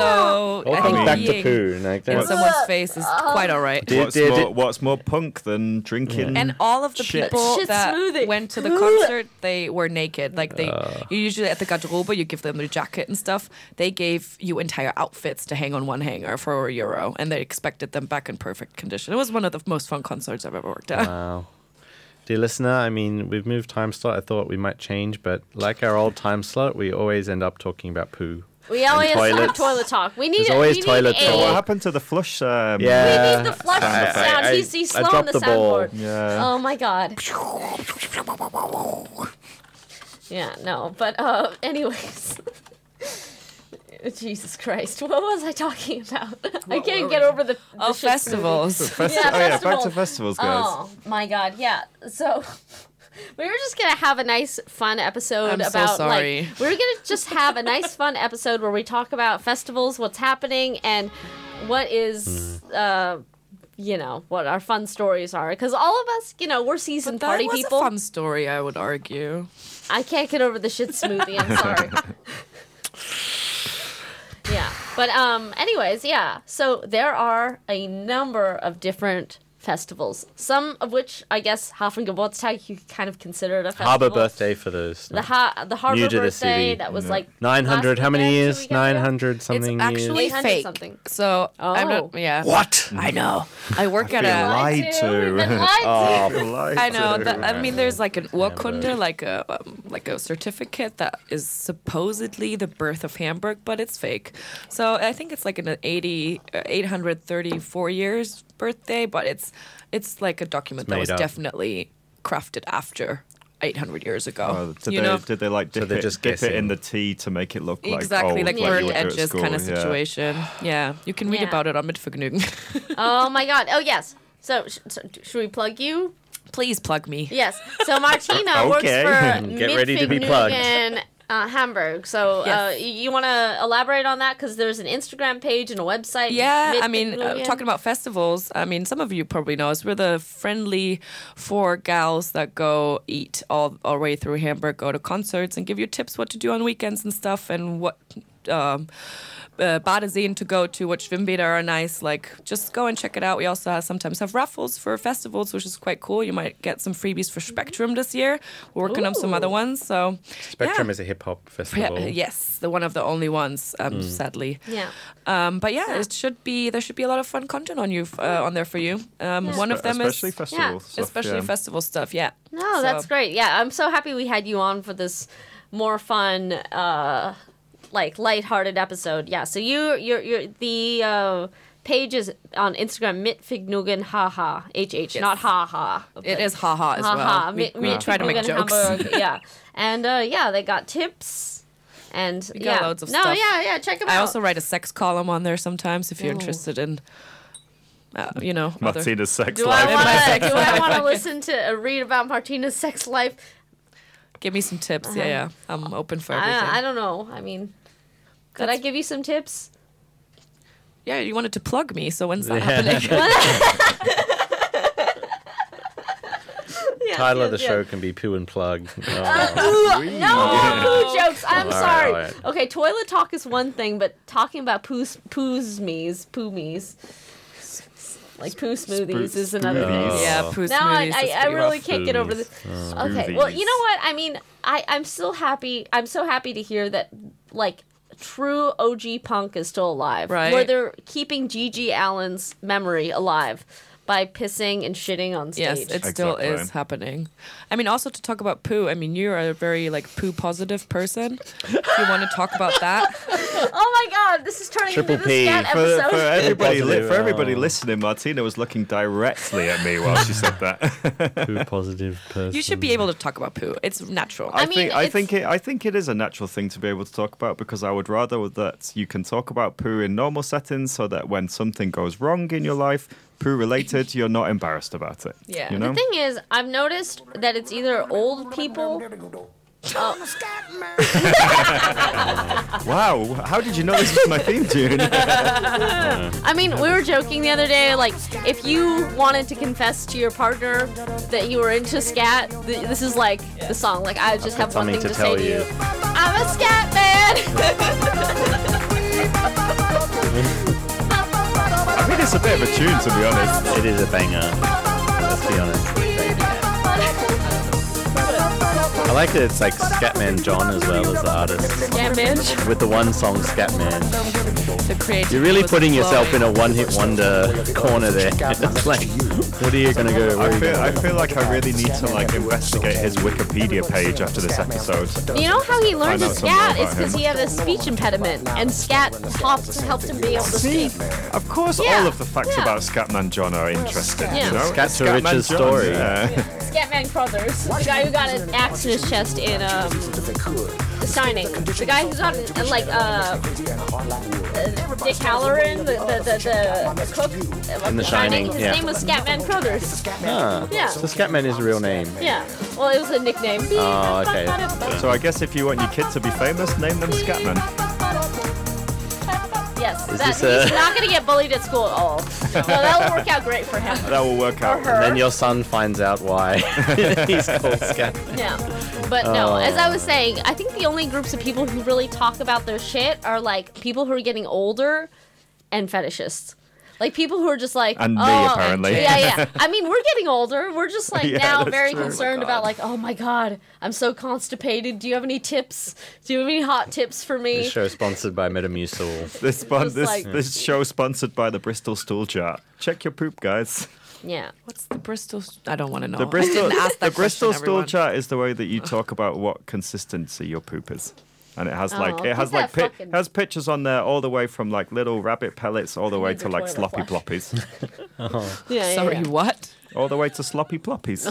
So All I comes think back to peeing poo. Like in that. someone's face is quite all right. Did- What's, did- more, did- what's more punk than drinking? And all of the Shit. people Shit that smoothie. went to the concert, they were naked. Like they, you usually at the garderobe, you give them their jacket and stuff. They gave you entire outfits to hang on one hanger for a euro, and they expected them back in perfect condition. It was one of the most fun concerts I've ever worked at. Wow. Dear listener, I mean, we've moved time slot. I thought we might change, but like our old time slot, we always end up talking about poo. We always have toilets. toilet talk. We need There's a, always we toilet need So a, what talk. happened to the flush? Um, Yeah. We need the flush I- sound. I- he's he's I slowing dropped the the ball. soundboard. Yeah. Oh my god. Yeah, no, but uh, anyways. Jesus Christ, what was I talking about? I can't get over the, the Oh, shit smoothie. festivals. Festi- Yeah, oh yeah, back festival. to festivals, guys. Oh my god, yeah. So we were just gonna have a nice, fun episode I'm so about sorry. like we were gonna just have a nice, fun episode where we talk about festivals, what's happening, and what is, uh, you know, what our fun stories are. Because all of us, you know, we're seasoned That party was people. a fun story, I would argue. I can't get over the shit smoothie. I'm sorry. Yeah, but um, anyways, yeah. So there are a number of different festivals. Some of which, I guess, Hafengeburtstag you could kind of consider it a festival. Harbor birthday for those. The ha- the Harbor New to the birthday city. that was Yeah. like nine hundred. last How many weekend, two years? weekends ago? nine hundred something it's actually years. eight hundred fake. something. So I'm Oh. not. Yeah. What? I know. I work at Feel a. lied Lied to. We've been lied to. Oh, Lied I know. to. That, I mean, there's like an Urkunde, Hamburg. like a um, like a certificate that is supposedly the birth of Hamburg, but it's fake. So I think it's like an eighty, uh, eight hundred thirty-four years birthday, but it's it's like a document It's that made was up. definitely crafted after eight hundred years ago. Oh, did you they know. did they like So dip, they're it, just dip it guessing. in the tea to make it look like Exactly, old, like you burnt would do at edges school, kind of yeah. situation. Yeah, you can read Yeah. about it on Mitvergnügen. Oh my god. Oh yes. So, sh- so should we plug you? Please plug me. Yes. So Martina works Okay. for Get ready to be plugged. Mitvergnügen, Uh, Hamburg. So uh, Yes. y- you want to elaborate on that? Because there's an Instagram page and a website. Yeah, I mean, uh, Mitvergnügen. talking about festivals, I mean, some of you probably know us. We're the friendly four gals that go eat all, all the way through Hamburg, go to concerts, and give you tips what to do on weekends and stuff, and what um, uh, Badeseen to go to, what Schwimmbäder are nice. Like, just go and check it out. We also have, sometimes have raffles for festivals, which is quite cool. You might get some freebies for Spectrum this year. We're working on some Ooh. other ones. So, Spectrum yeah. is a hip hop Yeah, festival. yes, the one of the only ones, um, Mm. sadly. Yeah. Um, but yeah, it should be there should be a lot of fun content on you uh, on there for you. Um, Yeah. One of them especially is festival stuff, especially yeah. festival stuff. Yeah. No, So- that's great. Yeah, I'm so happy we had you on for this more fun, uh, like lighthearted episode. Yeah. So you, you're, you're the uh, page is on Instagram. Mitvergnügen haha h h Yes. not haha. It is haha as haha. well. We, Mit- we try to make Mitvergnügen jokes. Hamburg. Yeah, and uh, yeah, they got tips and We got yeah. loads of no, stuff. yeah, yeah. Check them I out. also write a sex column on there sometimes if you're Ooh. interested in, uh, you know, other. Martina's sex do life. I want to? sex Do I life. want to listen to uh, read about Martina's sex life? Give me some tips. Yeah, yeah. I'm open for everything. Uh-huh. I, I don't know. I mean, could I That's- give you some tips? yeah, you wanted to plug me, so when's that Yeah. happening? title of the yes, show yes. can be Poo and Plug. Oh. No poo jokes. I'm All right, sorry. all right. Okay, toilet talk is one thing, but talking about poos, poos me's, poo me's, like poo smoothies is another smoothies. thing. Yeah, poo Now I, smoothies I, is I pretty really rough. can't get over this. Okay, well, you know what? I mean, I, I'm still happy. I'm so happy to hear that, like, true O G punk is still alive. Right. Where they're keeping Gigi Allen's memory alive by pissing and shitting on stage. Yes, it still Exactly. is happening. I mean, also to talk about poo. I mean, you're a very like poo positive person. If you want to talk about that, Oh my god, this is turning Triple into the P. scat For, episode. for everybody, li- Positive, for everybody oh. listening, Martina was looking directly at me while she said that. Poo positive person. you should be able to talk about poo. It's natural. I, I mean, think I it's- think it I think it is a natural thing to be able to talk about because I would rather that you can talk about poo in normal settings so that when something goes wrong in your life, poo related, you're not embarrassed about it. Yeah. You The know? The thing is, I've noticed that it's either old people. Wow, how did you know this was my theme tune? I mean, we were joking the other day, like, if you wanted to confess to your partner that you were into scat, th- this is like the song. Like, I just have one something thing to to, say tell to you. you. I'm a scat man! I mean, it's a bit of a tune, to be honest. It is a banger. Let's be honest. I like that it's like Scatman John as well as the artist. Scat man. With the one song Scatman. The creativity You're really was putting yourself in flowing. a one-hit wonder corner there. It's like, what are you gonna go? Where are I you feel, gonna I go? feel like I really need to like investigate his Wikipedia page after this episode. You know how he learned Find to out some more scat? about It's because him. he had a speech impediment, and scat helped, helped him be able to See, speak. of course, Yeah, all of the facts yeah. about Scatman John are interesting. Yeah. You know, Scat to Scatman Rich's John, story. yeah. Scatman Crothers, the guy who got an axe in his chest in um, The Shining. The guy who got uh, like uh, uh, Dick Halloran, the the the, the, the cook of In The Shining, His yeah. name was Scatman Crothers. Ah, Yeah. so Scatman is a real name. Yeah. Well, it was a nickname. Oh, okay. So I guess if you want your kid to be famous, name them Scatman. Yes. Is That, this a- he's not going to get bullied at school at all. So that'll work out great for him. That will work out. Or her. Then your son finds out why he's called Scatman. Yeah. But no, Oh. as I was saying, I think the only groups of people who really talk about their shit are like people who are getting older and fetishists. Like people who are just like, And me, oh, apparently. Yeah, yeah. I mean, we're getting older. We're just like Yeah, now that's very true. concerned Oh my about God. like, oh my god, I'm so constipated. Do you have any tips? Do you have any hot tips for me? This show is sponsored by Metamucil. This spon- Just this like- this show sponsored by the Bristol Stool Chart. Check your poop, guys. Yeah. What's the Bristol? s- I don't want to know. The Bristol I didn't ask that the Bristol question, Stool everyone. Chart is the way that you talk about what consistency your poop is. And it has like Oh, it has put like that pi- fucking- it has pictures on there all the way from like little rabbit pellets all the way need to the like toilet sloppy flush. ploppies. Yeah. yeah, Sorry, yeah. what? all the way to sloppy ploppies.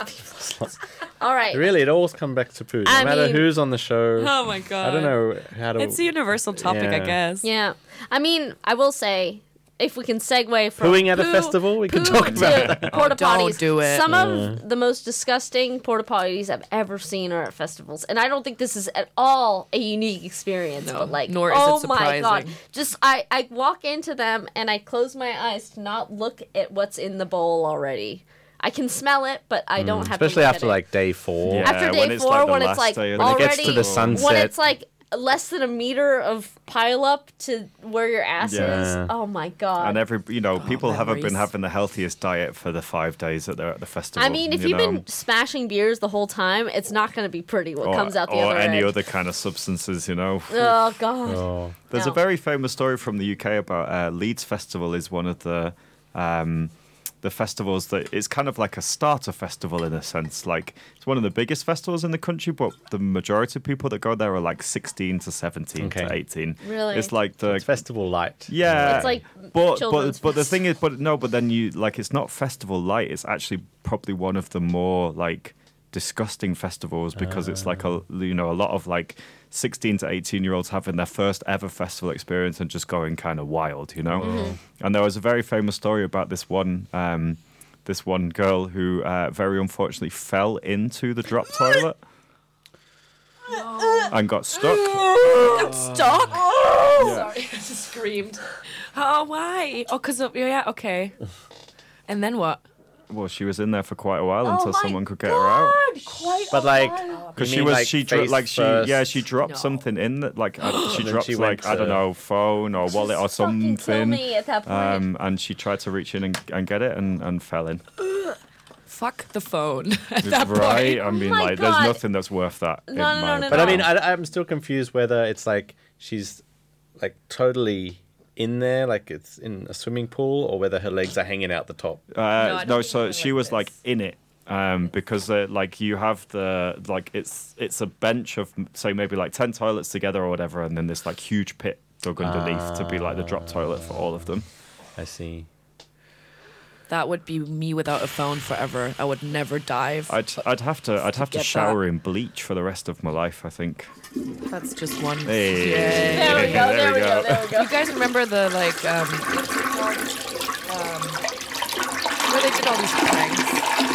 All right. Really, it all comes back to poo. No I matter mean- who's on the show. Oh my god. I don't know how to. It's a universal topic, I Yeah. guess. Yeah. I mean, I will say, if we can segue from Pooing at a poo- festival, we can poo talk about to porta don't potties. do it. Some of the most disgusting porta potties I've ever seen are at festivals, and I don't think this is at all a unique experience. No, but like, nor is it oh my god, surprising. just I I walk into them and I close my eyes to not look at what's in the bowl already. I can smell it, but I don't have Especially to look after at like day four. Yeah. After day when it's four, like the when it's last like day of When it already gets to the sunset. when it's like less than a meter of pile up to where your ass Yeah. is. Oh my god. And every you know, people haven't been memories. having the healthiest diet for the five days that they're at the festival. I mean, if you you've know? been smashing beers the whole time, it's not going to be pretty what or, comes out the or other any end. other kind of substances, you know. Oh god. Oh. There's No. a very famous story from the U K about uh, Leeds Festival is one of the um, the festivals that it's kind of like a starter festival in a sense. Like it's one of the biggest festivals in the country, but the majority of people that go there are like sixteen to seventeen to Okay. eighteen. Really? It's like the It's festival light. yeah. It's like but children's but but the fest. thing is, but no, but then you like it's not festival light. It's actually probably one of the more like disgusting festivals because it's like a you know a lot of like sixteen to eighteen year olds having their first ever festival experience and just going kind of wild, you know. And there was a very famous story about this one um, this one girl who uh, very unfortunately fell into the drop toilet and got stuck. Stuck? Sorry, I just screamed. Oh, why? Oh, because of, yeah, okay. And then what? Well, she was in there for quite a while until Oh my someone could get her out. Quite But like, Because you she mean, was like, she dro- face like she first? yeah she dropped No. something in that like uh, she then dropped she went like I don't to- know phone or wallet or Fucking kill something. me at that point. Um, and she tried to reach in and, and get it and, and fell in. Fuck the phone at that Right? point. I mean, my like, God. there's nothing that's worth that. in No, no, my no, no, But I no. mean, I, I'm still confused whether it's like she's like totally in there, like it's in a swimming pool, or whether her legs are hanging out the top. Uh, I no, don't think so anything she like was like this. in it. Um, because uh, like you have the like it's it's a bench of say maybe like ten toilets together or whatever, and then this like huge pit dug underneath to be like the drop toilet for all of them. I see. That would be me without a phone forever. I would never dive. I'd I'd have to I'd have to get shower in bleach for the rest of my life. I think. That's just one. Hey, Yay. There we go. There we go. There we go. You guys remember the like um, what's it called? Um, where they did all these pranks?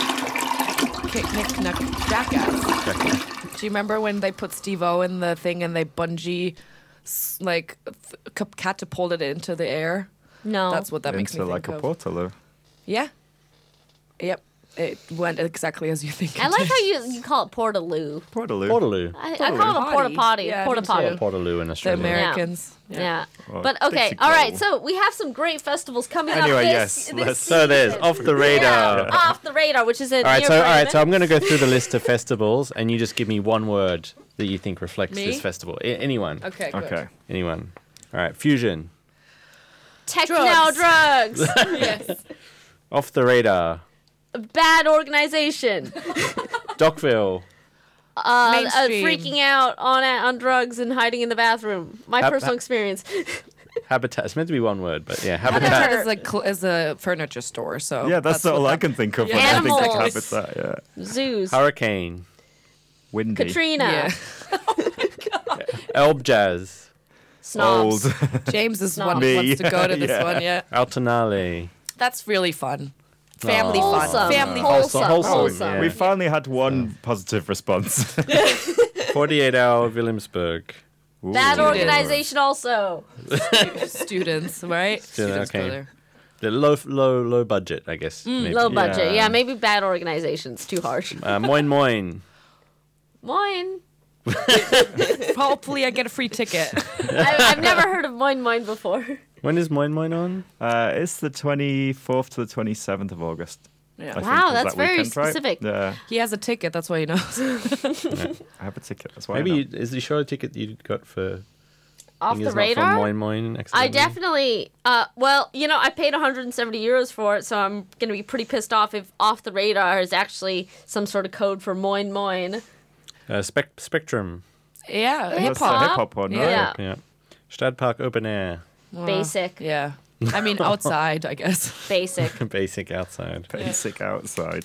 Kick, Nick, Knack, Jackass. Do you remember when they put Steve-O in the thing and they bungee, s- like, th- ca- catapulted it into the air? No. That's what that makes me Into like think a of. portal. Yeah. Yep. It went exactly as you think. It I like did. how you you call it Portaloo. Portaloo. Portaloo. I, I call it a porta Potty. potty. Yeah, porta me potty. too. Portaloo in the Australia. Americans. Yeah. Well, But okay, Dixie all right. Carter. So we have some great festivals coming up. Anyway, this, yes, this let's- So there's season. off the radar. Yeah, off the radar, which is a All right, near so all right, Brandon. so I'm going to go through the list of festivals, and you just give me one word that you think reflects Me? this festival. I- anyone? Okay. Good. Okay. Anyone? All right, fusion. Techno Drugs. drugs. Yes. Off the radar. Bad organization. Dockville. Uh, uh, Mainstream. freaking out on on drugs and hiding in the bathroom. My Hap- personal hap- experience. Habitat. It's meant to be one word, but yeah, Habitat habitat. is like cl- is a furniture store, so Yeah, that's, all what I that- can think of Yeah. when I think of Animals. habitat. Yeah. Zoos. Hurricane. Windy. Katrina. Yeah. Elb Jazz. Snobs. Old. James is Snob. one Me. who wants to go to this Yeah. one. Yeah, Altonale. that's really fun. Family Aw. fun. Wholesome. Family Wholesome. Wholesome, Wholesome. yeah. We finally had one positive response. forty-eight hour Williamsburg. Bad Ooh. organization also. students, right? Students okay. go there. The low, low, low budget, I guess. maybe. Low budget. Yeah. Yeah, maybe bad organizations. Too harsh. Uh, Moin Moin. Moin. Hopefully, I get a free ticket. I, I've never heard of Moin Moin before. When is Moin Moin on? uh, it's the twenty-fourth to the twenty-seventh of August. Yeah. I think, Wow, is that's that very weekend, right? specific. Yeah, He has a ticket. That's why he knows. I have a ticket. That's why. Maybe I know. you, is the show ticket you got for Off thing the is not radar? from Moin Moin? I accidentally? definitely, uh, well, you know, I paid one hundred seventy euros for it, so I'm going to be pretty pissed off if Off the Radar is actually some sort of code for Moin Moin. Uh, Spec- Spectrum. yeah, That's hip the hop. hip hop one, right? Yeah. Yeah. Stadtpark Open Air. Basic. Yeah. I mean, outside, I guess. Basic. Basic outside. Basic outside.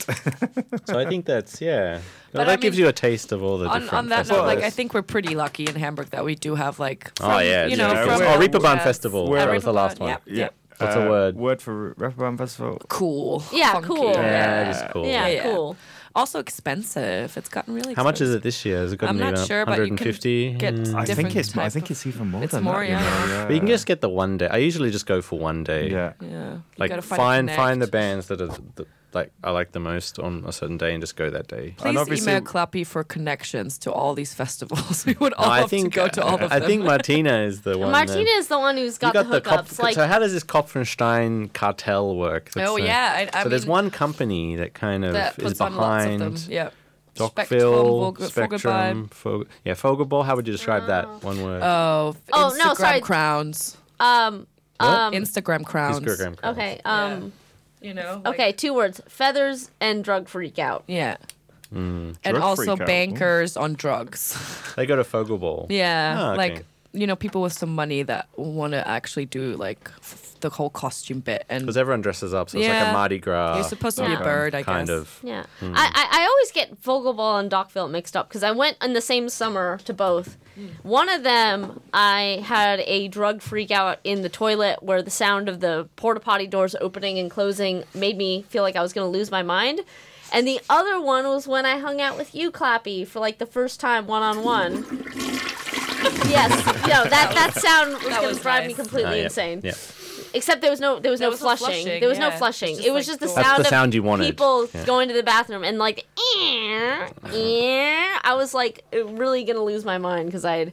So I think that's, yeah. But Well, I that gives mean, you a taste of all the On, different on that note, festivals. like I think we're pretty lucky in Hamburg that we do have like. Oh, from, yeah, You know, yeah, from, we're- Oh, Reeperbahn yes. Festival. We're- That was the last Reeperbahn, one. yeah, yeah. What's a word? Word for Reeperbahn Festival. Cool. Yeah, Funky. cool. Yeah, it is cool. Yeah, Yeah. cool. Also expensive. It's gotten really expensive. How much is it this year? Has it gotten I'm not even sure, but you one hundred fifty? can get Mm. I different think it's. I type think of- it's even more It's than more, that. you yeah. know, But you can just get the one day. I usually just go for one day. Yeah. Yeah. You Like gotta find a find the connect. bands that are the, like I like the most on a certain day and just go that day. Please obviously- email Clappy for connections to all these festivals. We would all No, I love think to go to all of I them. think Martina is the one. Martina that, is the one who's you got, got the Kopf- hookups. like, so how does this Kopfenstein cartel work? That's oh the- yeah, I, I so there's mean, one company that kind of that is puts on lots of behind them. Yeah. Dockville, Spectrum, Vogel- Spectrum, Fog- yeah, Fogelball. How would you describe that? One word. Oh, Oh, Instagram no, sorry. crowns. um, um, Instagram crowns. Instagram crowds. okay, um, You know. like- okay, two words: feathers and drug freak out. Yeah. Mm. And Drug also freak out. bankers on drugs. They go to Fogelball. Yeah, Ah, okay. like you know, people with some money that want to actually do like f- the whole costume bit, and Because everyone dresses up, so it's like Yeah. a Mardi Gras. you're supposed to be Yeah. a bird, I kind guess. of. Yeah, I, I I always get Vogelball and Dockville mixed up because I went in the same summer to both. One of them, I had a drug freak out in the toilet where the sound of the porta potty doors opening and closing made me feel like I was going to lose my mind. And the other one was when I hung out with you, Clappy, for like the first time one on one. Yes, you know, that that sound was That going was to drive me nice. completely Ah, yeah, insane. Yeah. Except there was no there was There no was no flushing. flushing, There was no yeah. flushing. It's just It was like just the door- That's sound the of sound you wanted. people Yeah. going to the bathroom and like, "Eh, eh." I was like really gonna lose my mind because I had.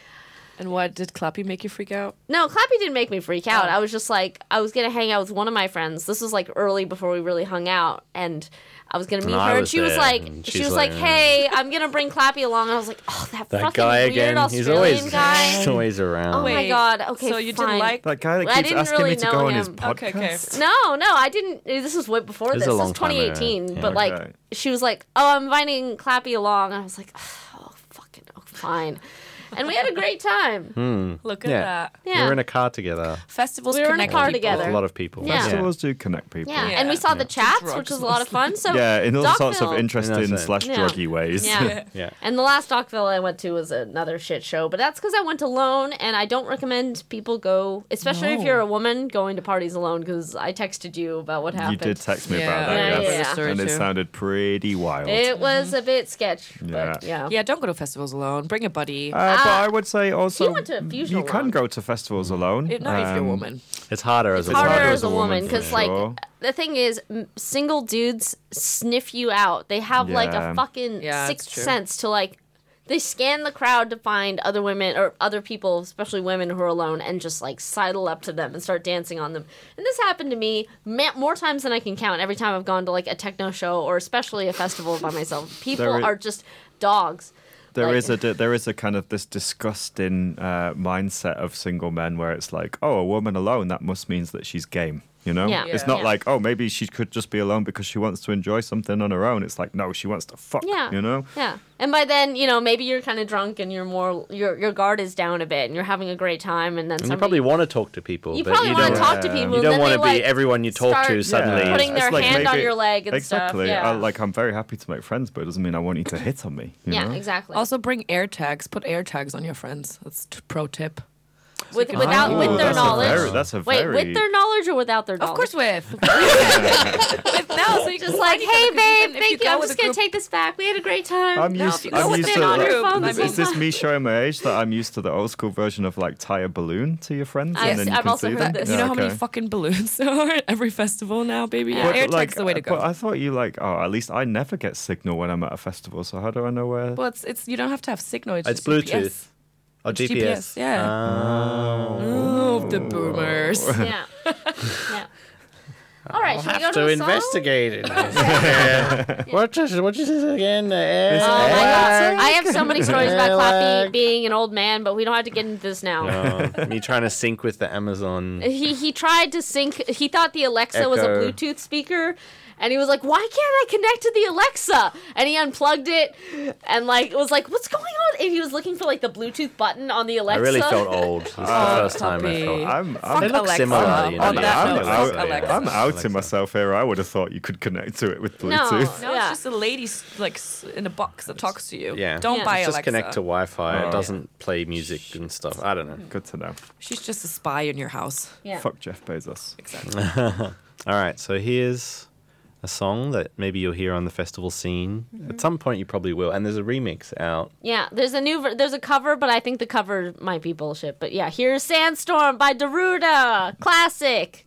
And what did Clappy make you freak out? No, Clappy didn't make me freak out. Oh. I was just like, I was gonna hang out with one of my friends. This was like early before we really hung out, and I was gonna meet I her. And was she was there, like, and she she's was like, like, "Hey, I'm gonna bring Clappy along." And I was like, "Oh, that, That fucking guy weird again. Australian He's always guy." he's always around. Oh my Wait, god. Okay, so you fine. didn't like That guy that I keeps didn't asking really me to know go on him. his podcast. Okay, okay. No, no, I didn't. This was way before It was this. a This long was time ago. twenty eighteen. Yeah. But like, Okay. she was like, "Oh, I'm inviting Clappy along." And I was like, "Oh, fucking, oh, fine." And we had a great time. Look at Yeah. that. Yeah. We were in a car together Festivals We were in a connect car people. together. with a lot of people. Yeah. Festivals do connect people. Yeah. Yeah. And we saw the chats, Drugs which was a lot of fun. So Yeah, in all sorts of Dockville- interesting Innocent. slash Yeah. druggy ways. Yeah. Yeah. And the last Dockville I went to was another shit show, but that's because I went alone, and I don't recommend people go, especially if No. you're a woman, going to parties alone. Because I texted you about what You happened. did text me Yeah. about Yeah, that, yeah, yes. yeah. And it Too. sounded pretty wild. It was a bit sketch, Yeah. but yeah. Yeah, don't go to festivals alone. Bring a buddy. Uh, but Ah. I would say also went to a fusion you can alone. go to festivals alone. If- not if you're a Um, woman. It's harder as a It's harder woman. as a woman for because, like, sure. the thing is, m- single dudes sniff you out. They have like a Yeah. fucking Yeah, sixth that's true. sense to like. They scan the crowd to find other women or other people, especially women who are alone, and just like sidle up to them and start dancing on them. And this happened to me ma- more times than I can count. Every time I've gone to like a techno show or especially a festival by myself, people There is- are just dogs. There Like- is a di- there is a kind of this disgusting uh, mindset of single men where it's like, oh, a woman alone, that must means that she's game. You know, Yeah. it's Yeah. not Yeah. like, oh, maybe she could just be alone because she wants to enjoy something on her own. It's like, no, she wants to fuck. Yeah. You know, Yeah. And by then, you know, maybe you're kind of drunk and you're more your your guard is down a bit and you're having a great time, and then And you somebody, probably want to talk to people, you but probably you want don't. to talk to Yeah. people. You and don't then want they, to be like, everyone you talk to start suddenly. putting their It's like hand on maybe- your leg and exactly. stuff. Yeah. I, like I'm very happy to make friends, but it doesn't mean I want you to hit on me. You yeah, know? exactly. Also, bring air tags. Put air tags on your friends. That's t- pro tip. with, can- without Oh, with their that's a knowledge. very- that's a Wait, very. with their knowledge or without their knowledge? Of course, with. with now, so you Just can like, find each hey other, 'cause babe, even if thank you. go I'm with just a gonna group- take this back. We had a great time. I'm No, used. if you I'm go with used their to. knowledge, your phone I the mean- Is this me showing my age that I'm used to the old school version of like tie a balloon to your friends? I've- and then you I've can also see heard them? this. You know how many okay. fucking balloons there are at every festival now, baby? Yeah, But, air like, tag's the way to go. But I thought you like. Oh, at least I never get signal when I'm at a festival. So how do I know where? Well, it's, it's you don't have to have signal. It's, It's just G P S. Bluetooth. Or It's G P S. G P S, yeah. Oh. Oh, the boomers. Yeah. yeah. All right, I'll should we go have to, to a song? investigate it. Yeah. What is what is this again? Oh my God. I have so many stories about Clappy Lag. being an old man, but we don't have to get into this now. Oh, me trying to sync with the Amazon. He he tried to sync. He thought the Alexa was a Echo. Bluetooth speaker, and he was like, "Why can't I connect to the Alexa?" And he unplugged it, and like was like, "What's going on?" And he was looking for like the Bluetooth button on the I Alexa. really felt old. This is the Oh, first time I puppy. felt. I'm. They I'm, look Alexa. similar. You know, On the that I'm, note, Alexa, out, fuck yeah. Alexa. I'm outing Alexa. myself here. I would have thought you could connect to it with No, Bluetooth. No, yeah. it's just a lady s- like s- in a box that talks to you. Yeah. Don't Yeah. buy Just Alexa. connect to Wi-Fi. Oh. It doesn't play music and stuff. I don't know. Good to know. She's just a spy in your house. Yeah. Fuck Jeff Bezos. Exactly. All right, so here's a song that maybe you'll hear on the festival scene. At some point, you probably will. And there's a remix out. Yeah, there's a new, ver- there's a cover, but I think the cover might be bullshit. But yeah, here's "Sandstorm" by Daruda, classic.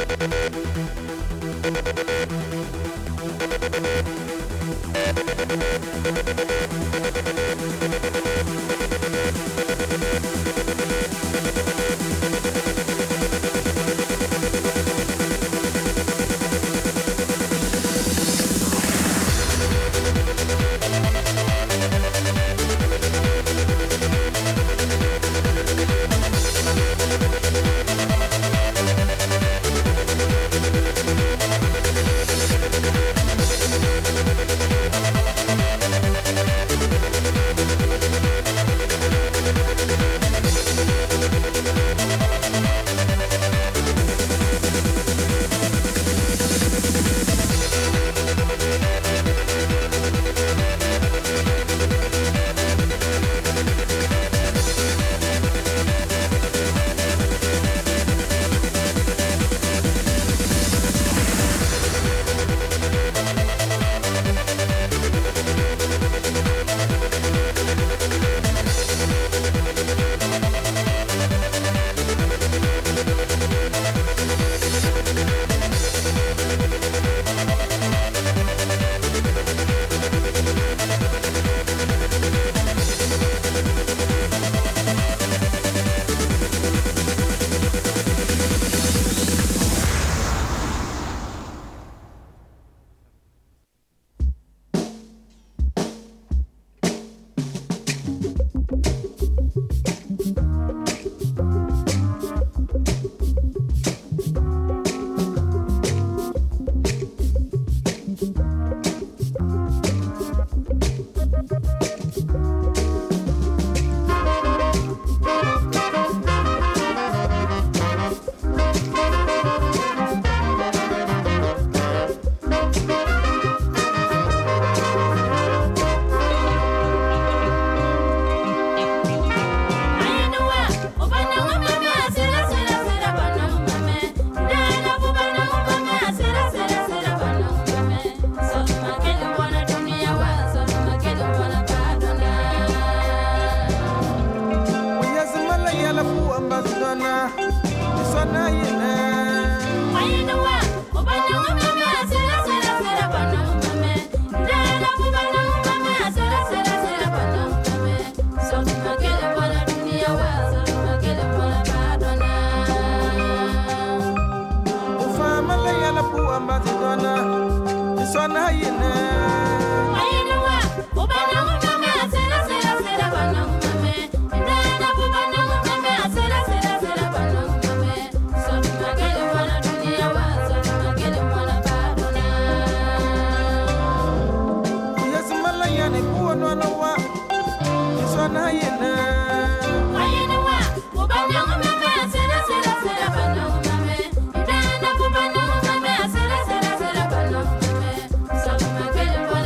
Get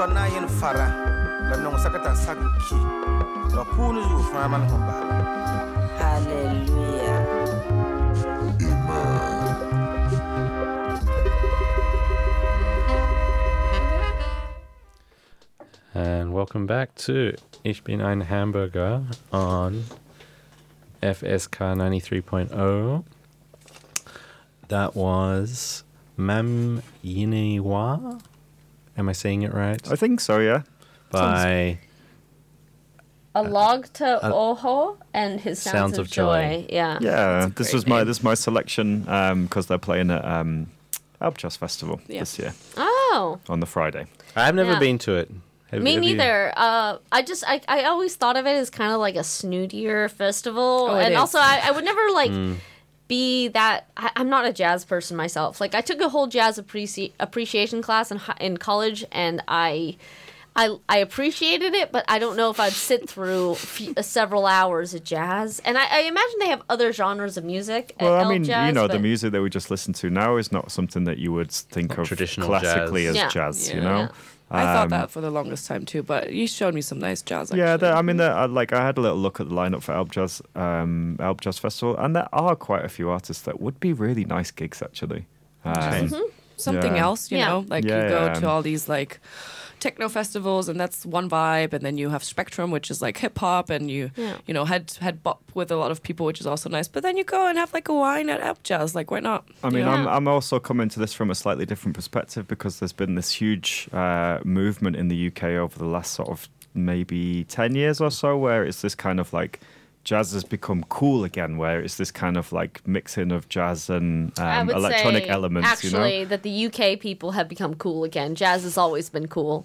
son na yin fara la non sakata sakki la punu zu fa man hon ba Hallelujah. And welcome back to Ich bin ein Hamburger on F S K ninety-three point oh. That was Mam Yinewa. Am I saying it right? I think so, yeah. By Alog to Oho and his Sounds, Sounds of, of Joy. Joy. Yeah. Yeah, That's a this great was my name. this is my selection because they're playing at um, Alpjazz Festival Yeah. this year Oh. on the Friday. I've never Yeah. been to it. Have- Me have you- neither. Uh, I just I, I always thought of it as kind of like a snootier festival, Oh, it and is. also I, I would never like Mm. be that. I, I'm not a jazz person myself. Like I took a whole jazz appreci- appreciation class in hi- in college, and I. I, I appreciated it, but I don't know if I'd sit through f- several hours of jazz. And I, I imagine they have other genres of music. at Well, I Elk mean, Jazz, you know, the but- music that we just listened to now is not something that you would think Not of traditional classically jazz. as Yeah. jazz, you Yeah. know? Yeah. I thought Um, that for the longest time too, but you showed me some nice jazz. Actually. Yeah, there- I mean, there, I- like I had a little look at the lineup for Alpjazz, um, Alpjazz Festival, and there are quite a few artists that would be really nice gigs, actually. Um, something Yeah. else, you Yeah. know, like Yeah, you go yeah. to all these like techno festivals, and that's one vibe, and then you have Spectrum, which is like hip hop, and you Yeah. you know had had bop with a lot of people, which is also nice. But then you go and have like a wine at Alpjazz, like why not? I mean, You know? I'm, I'm also coming to this from a slightly different perspective because there's been this huge uh, movement in the U K over the last sort of maybe ten years or so where it's this kind of like jazz has become cool again, where it's this kind of like mixing of jazz and I um, would electronic say, elements, actually, you know? that the U K people have become cool again. Jazz has always been cool.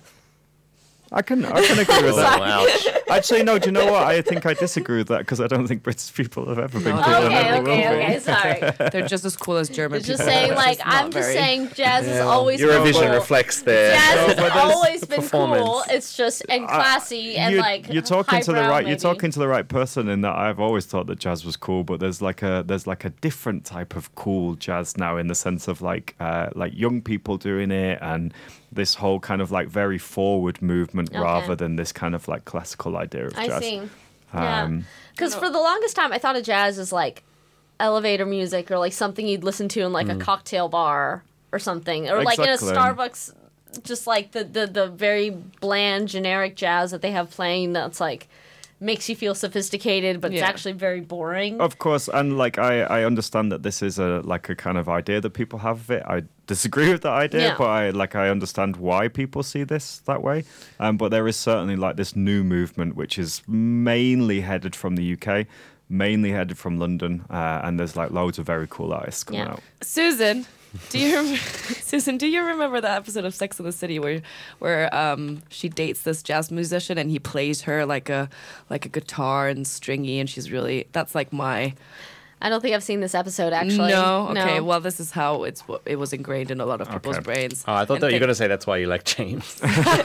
I can I can agree with Oh, that. ouch. Actually, no. Do you know what? I think I disagree with that because I don't think British people have ever been No, cool. no, and no, Okay, never will okay, be. okay. Sorry. They're just as cool as German It's just people. saying, It's like, just not I'm just very- saying, jazz has always Eurovision been cool. reflects their Jazz but has there's always the been performance. cool. It's just and classy and you, like you're talking to the highbrow, right. You're maybe. talking to the right person in that I've always thought that jazz was cool, but there's like a there's like a different type of cool jazz now in the sense of like uh, like young people doing it and this whole kind of like very forward movement Okay. rather than this kind of like classical idea of I jazz. see. Yeah. Um, Because for the longest time, I thought of jazz as like elevator music or like something you'd listen to in like a cocktail bar or something, or like in a Exactly. Starbucks. Just like the, the the very bland generic jazz that they have playing that's like makes you feel sophisticated, but it's Yeah. actually very boring. Of course, and like I, I understand that this is a like a kind of idea that people have of it. I disagree with that idea, Yeah. but I like I understand why people see this that way. Um, but there is certainly like this new movement which is mainly headed from the U K, mainly headed from London, uh, and there's like loads of very cool artists coming Yeah. out. Susan, do you rem- Susan? Do you remember that episode of Sex and the City where where um, she dates this jazz musician and he plays her like a like a guitar and stringy, and she's really that's like my I don't think I've seen this episode actually. no okay well this is how it's it was ingrained in a lot of people's Okay. brains. Oh, I thought And that you were they- going to say that's why you like James.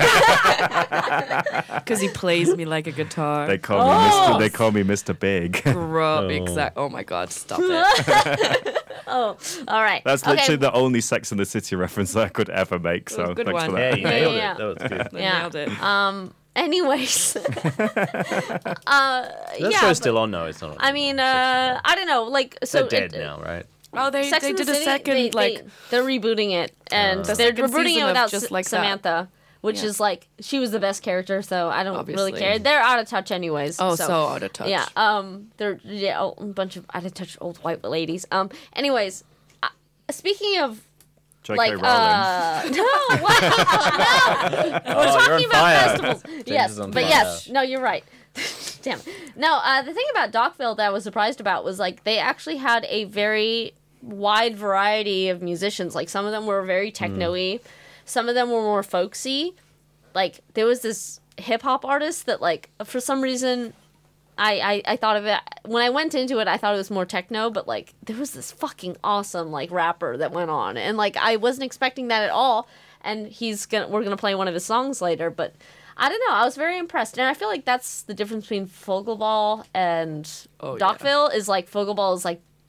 because he plays me like a guitar. They call me Oh! Mister They call me Mister Big. Grub, exact. Oh my God! Stop it. Oh, all right. That's okay. literally the only Sex and the City reference that I could ever make. was a So good thanks for one. that. Yeah, you Yeah, nailed yeah, it. That was good. They Yeah. nailed it. Um. Anyways. uh, That yeah. show's but- still on, though. It's not. I mean, uh, I don't know. Like, so They're dead it- now, right? Oh, they Sex they and the did a City, second they, like they, they're rebooting it, and The they're second rebooting season it of without Just S- Like That. Samantha, which Yeah. is like she was the best character, so I don't Obviously. really care. They're out of touch anyways. oh so, so out of touch. yeah. Um, they're yeah oh, a bunch of out of touch old white ladies. Um, anyways, uh, speaking of J K like Rowling. uh no what no we're Oh, you're talking on about fire. festivals yes is on but fire. yes no you're right damn it. No uh the thing about Dockville that I was surprised about was like they actually had a very wide variety of musicians. Like some of them were very techno-y, some of them were more folksy. Like there was this hip hop artist that like for some reason I, I, I thought of it when I went into it. I thought it was more techno, but like there was this fucking awesome like rapper that went on, and like I wasn't expecting that at all. And he's gonna we're gonna play one of his songs later, but I don't know. I was very impressed, and I feel like that's the difference between Fogelball and Oh, yeah. Dockville is like Fogelball is like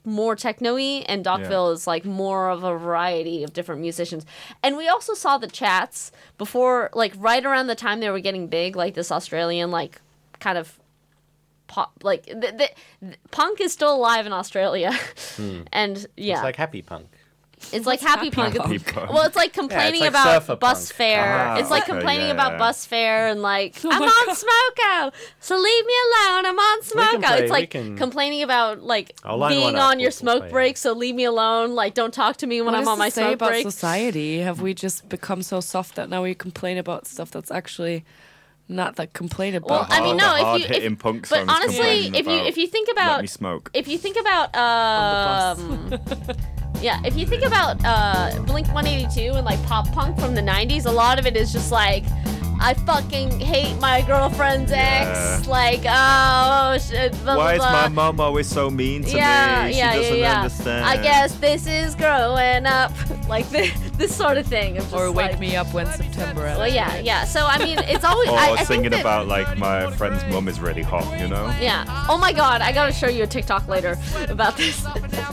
more techno-y, and Dockville is like more of a variety of different musicians. And we also saw the Chats before, like right around the time they were getting big, like this Australian like kind of pop, like the, the, the, punk is still alive in Australia, and yeah, It's like happy punk. it's like happy, punk. Happy It's- punk? Well, it's like complaining like about surfer bus punk. fare. Ah, it's like okay, complaining yeah, about yeah. bus fare and like I'm on Smoko, so leave me alone. I'm on can Smoko. play- It's we like can- complaining about like I'll line being one up, on your we'll- we'll smoke play it. break, so leave me alone. Like don't talk to me when What I'm does on my this say smoke about break. society? Have we just become so soft that now we complain about stuff that's actually not that complain about? Well, I mean, The no. If you, hard-hitting if, punk but songs honestly, complaining if you about, if you think Let about me smoke. if you think about um, yeah, if you think about uh, Blink one eighty-two and like pop punk from the nineties, a lot of it is just like, I fucking hate my girlfriend's Yeah. ex. Like, oh shit. Blah, Why is blah, my blah. mom always so mean to Yeah, me? She yeah, doesn't yeah, yeah. understand. I guess this is growing up, like this, this sort of thing. Of just or wake like, me up when September. Well, yeah, yeah. So I mean, it's always. Or I, I think singing that- about like my friend's mum is really hot, you know? Yeah. Oh my god, I gotta show you a TikTok later about this.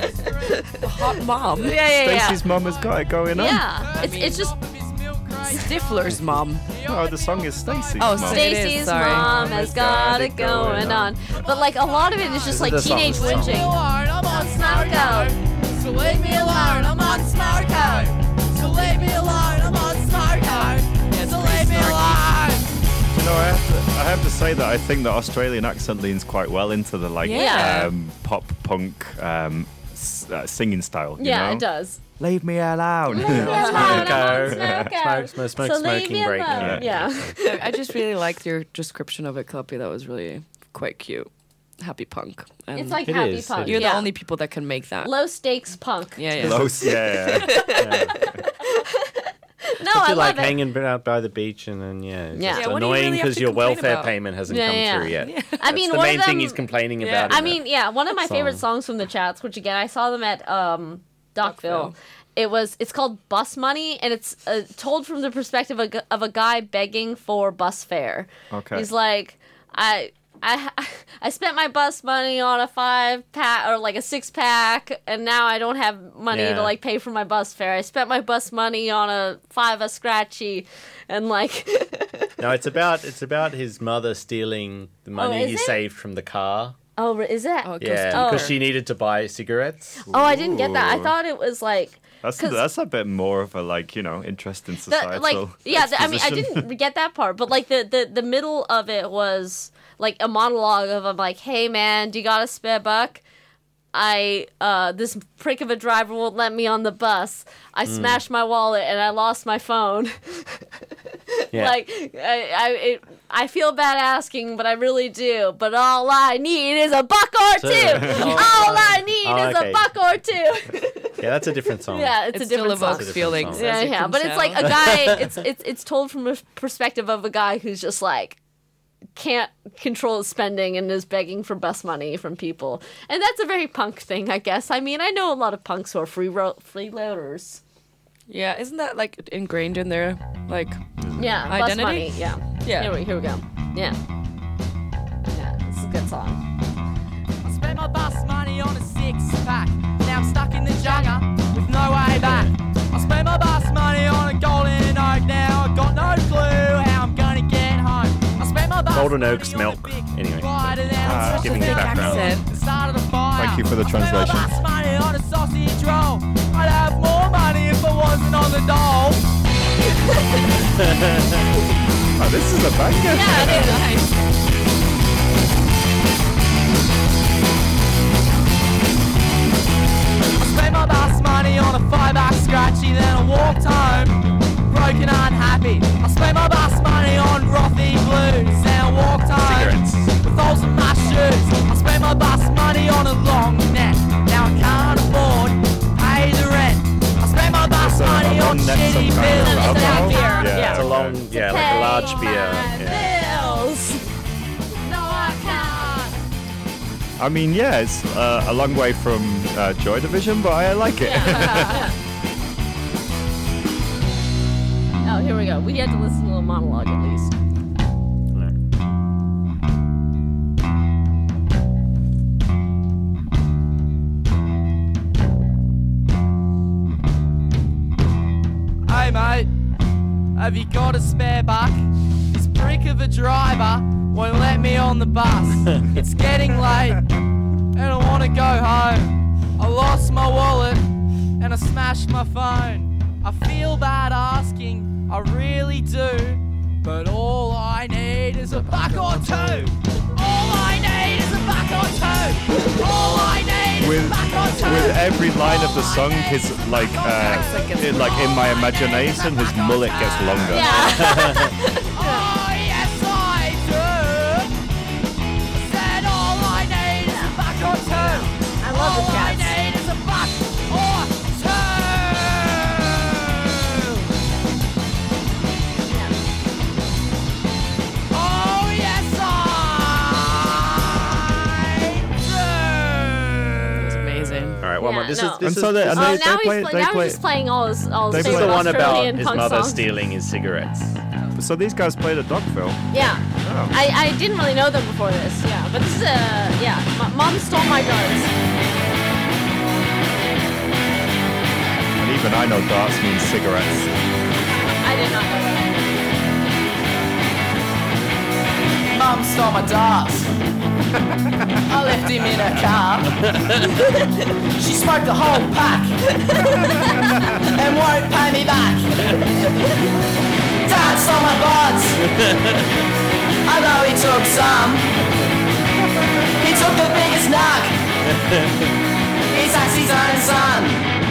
Hot mom. yeah, yeah, yeah. Stacey's mum has got it going on. Yeah. It's it's just Stifler's mom. Oh, the song is Stacey's Oh, mum. Sta- It is, Stacey's sorry. mom has got it going on. But like a lot of it is just This like is the song, teenage this is the whinging. I'm on Smoko. So leave me alone, I'm on Smoko. So leave me alone, I'm on Smoko. So leave me alone. You know, I have, to, I have to say that I think the Australian accent leans quite well into the like Yeah. um, pop punk um, s- uh, singing style. You Yeah, know? it does. Leave me alone. Leave me alone, I'm on Smoko. Smoko. Smoke, smoke, smoke, So leave smoking me break. alone. Yeah. Yeah. I just really liked your description of it, Kloppy. That was really quite cute. Happy punk. And It's like It happy is, punk. it you're yeah. the only people that can make that. Low stakes punk. Yeah, yeah. Close, yeah. yeah. No, If I you like love it. hanging out by the beach and then yeah, it's Yeah. just Yeah, what do you annoying really have because to your complain welfare about? payment hasn't Yeah, come yeah, through yeah. yet. I mean, That's the one main of them, thing he's complaining Yeah. about. I in mean, it. yeah, one of my favorite Song. songs from the Chats, which again I saw them at um, Dockville. Dockville. It was it's called Bus Money, and it's uh, told from the perspective of, a gu- of a guy begging for bus fare. Okay. He's like, I. I, I spent my bus money on a five pack or like a six pack, and now I don't have money Yeah. to like pay for my bus fare. I spent my bus money on a five a scratchy, and like No, it's about it's about his mother stealing the money is he it? saved from the car. oh, is that? Oh, it goes Yeah, deeper. because she needed to buy cigarettes. Oh, I didn't get that. I Ooh. thought it was like That's 'Cause- that's a bit more of a like you know interesting the, societal. like yeah. The, I mean, I exposition. didn't get that part, but like the, the the middle of it was like a monologue of I'm like, hey man, do you got a spare buck? I uh this prick of a driver won't let me on the bus. I smashed my wallet and I lost my phone. Yeah. Like I I it, I feel bad asking, but I really do. But all I need is a buck or So- two. all I need Oh, is okay. a buck or two. Yeah, that's a different song. yeah, it's It a still different song. evokes It's a different feelings. song. as Yeah, you yeah, can but it's like a tell. guy. It's it's it's told from a perspective of a guy who's just like can't control his spending and is begging for bus money from people, and that's a very punk thing, I guess. I mean, I know a lot of punks who are free ro- freeloaders. Yeah, isn't that like ingrained in their like? Yeah, bus Identity? money. Yeah, Yeah. Here we here we go. Yeah, yeah, this is a good song. I spent my bus money on a six pack. Now I'm stuck in the jungle with no way back. I spent my bus money on a golden oak. Now I got no clue how I'm gonna get home. I spent my bus Golden money Oak's on a milk. big Anyway. rider down Ah, to giving the you background. accent. the start of the fire. Thank you for the I spent translation. my bus money on a sausage roll. I'd have more money if I wasn't on the dole. Oh, this is a banger. Yeah, it is. Nice. I spent my bus money on a five buck scratchy, then I walked home, broken unhappy. I spent my bus money on Rothy blues, then I walked home Cigarettes. with holes in my shoes. I spent my bus money on a long neck, now I can't afford to pay the rent. I spent my bus That's a- money a on long neck shitty some kind of bills. It's a alcohol? beer, Yeah, yeah. It's a long, okay. yeah, like a large Pay beer. my Yeah. bills. No, I can't. I mean, yeah, it's uh, a long way from uh, Joy Division, but I like it. Oh, here we go. We had to listen to a monologue at least. Have you got a spare buck? This prick of a driver won't let me on the bus. It's getting late and I wanna go home. I lost my wallet and I smashed my phone. I feel bad asking, I really do. But all I need is a buck or two. All I need is a buck or two. All I need is With, a buck or two. with every line of the All I song, need his is a like, buck or uh, two. in, like in my imagination, his mullet gets longer. Oh, yes, I do. Said all I need is a buck or two. I love the All I cats. need is a buck or two. Oh, yes, I It's amazing. All right, one Yeah, more. This no. is this And is, so they- this and Oh, is- they- now he's play- play, they now play- he's just playing all his all they his play favorite the one about Australian his punk mother songs. stealing his cigarettes. So these guys played at Dogville. Yeah. Oh. I, I didn't really know them before this. Yeah, but this is a yeah. M- Mom stole my darts. And even I know darts means cigarettes. I did not know that. Mum stole my darts. I left him in her car. She smoked the whole pack and won't pay me back. Dad stole my buds. I know he took some. He took the biggest nug. He's his own son.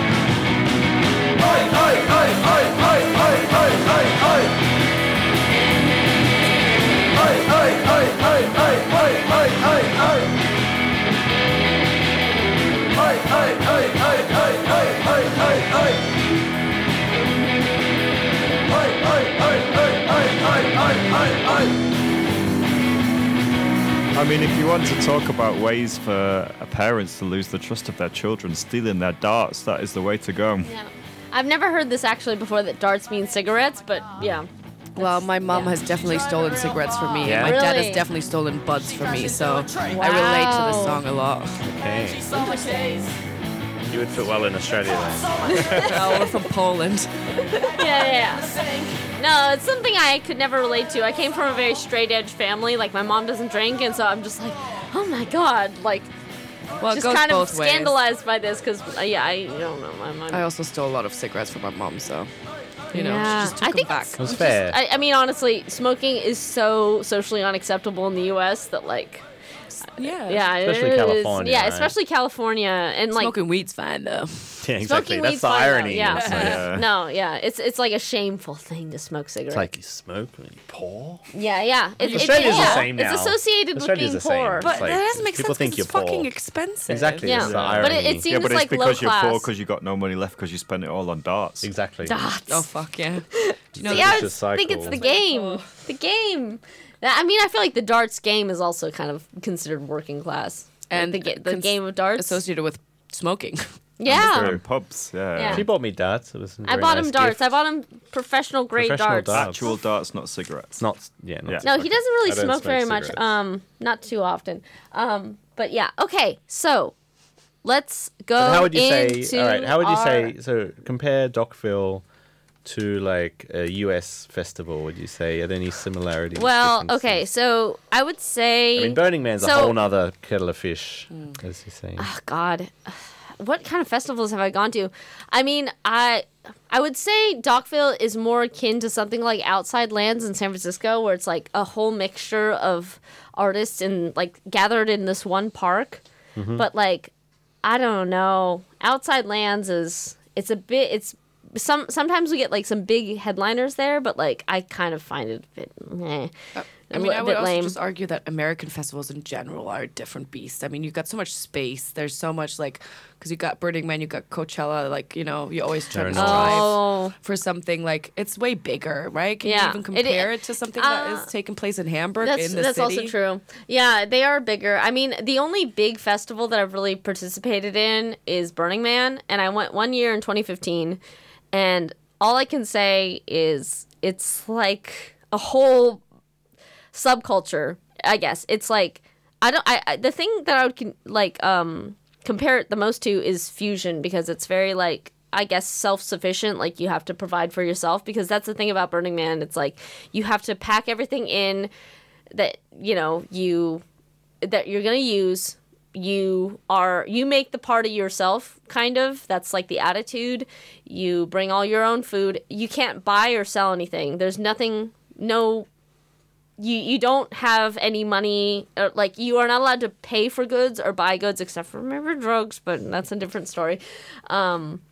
Oi, oi, oi, oi, oi, oi, oi, oi, oi. Oi, oi, oi, oi, oi, oi, oi, oi, oi. Oi, oi, oi, oi, oi, oi, oi, oi, oi. Oi, oi, oi, oi, oi, oi, oi, oi, oi. I mean, if you want to talk about ways for parents to lose the trust of their children, stealing their darts, that is the way to go. Yeah. I've never heard this actually before that darts mean cigarettes, but yeah. Well, my mom yeah. has definitely stolen cigarettes from me, Yeah? and my dad Really? has definitely stolen buds from me, so I relate to this Wow. song a lot. Okay. You would fit well in Australia then. Oh, we're from Poland. Yeah, yeah, yeah. No, it's something I could never relate to. I came from a very straight edge family. Like my mom doesn't drink, and so I'm just like, oh my god, like Well, it just goes kind of both ways. scandalized by this because uh, yeah, I don't know. My mom. I also stole a lot of cigarettes from my mom, so you know, Yeah. she just took I them think back. it's That's fair. I, I mean, honestly, smoking is so socially unacceptable in the U S that like, Yeah, yeah, it Especially is- California, Yeah, right? especially California, and like Smoking weed's fine though. Yeah, exactly. smoking That's weed's the fine, though, irony. yeah. It's like, Yeah. No, yeah, it's it's like a shameful thing to smoke cigarettes. it's like you smoke and you pour. yeah, yeah. It, it- Australia's yeah. the same now. It's associated Australia's with the being same. poor. It's But like, that doesn't make people sense. think 'cause you're it's fucking poor. expensive. Exactly. Yeah. It's the But irony. it- it seems Yeah, but it's like low because you're poor class. because you got no money left because you spent it all on darts. Exactly. Dots. Oh fuck yeah. Do you know yeah, I vicious was- think it's the cycle. game. The game. That- I mean, I feel like the darts game is also kind of considered working class. And the, ga- the cons- game of darts. associated with smoking? yeah. They're in pubs, yeah. Yeah. She bought me darts. It was a I very bought nice him darts. gift. I bought him professional grade Professional darts. darts. Actual darts, not cigarettes. It's not. Yeah. Not Yeah. No, he doesn't really I don't smoke smoke very much. cigarettes. Um, not too often. Um, but yeah. Okay, so let's go. But how would you into say? All right. How would you our- say? So compare Dockville to like a U S festival. Would you say are there any similarities? Well, differences? okay, so I would say. I mean, Burning Man's a so- whole nother kettle of fish, as you say. Oh, God, what kind of festivals have I gone to? I mean, I I would say Dockville is more akin to something like Outside Lands in San Francisco, where it's like a whole mixture of artists and like gathered in this one park. Mm-hmm. But like, I don't know. Outside Lands is it's a bit it's. Some sometimes we get like some big headliners there, but like I kind of find it a bit, eh, I a mean, li- I would bit also lame. just argue that American festivals in general are a different beast. I mean, you've got so much space. There's so much like, because you got Burning Man, you got Coachella. Like, you know, you always try to Fair enough. strive Oh. for something like it's way bigger, right? Can Yeah. you even compare It- it, to something that uh, is taking place in Hamburg That's in the that's city? also true. Yeah, they are bigger. I mean, the only big festival that I've really participated in is Burning Man, and I went one year in twenty fifteen, and all I can say is it's like a whole subculture. I guess it's like I don't. I, I the thing that I would con- like um compare it the most to is fusion because it's very like I guess, self-sufficient. Like, you have to provide for yourself, because that's the thing about Burning Man. It's like you have to pack everything in that, you know, you that you're going to use. You are you make the party yourself, kind of. That's like the attitude. You bring all your own food. You can't buy or sell anything. There's nothing, no, you you don't have any money. Or, like, you are not allowed to pay for goods or buy goods, except for maybe drugs, but that's a different story. Um,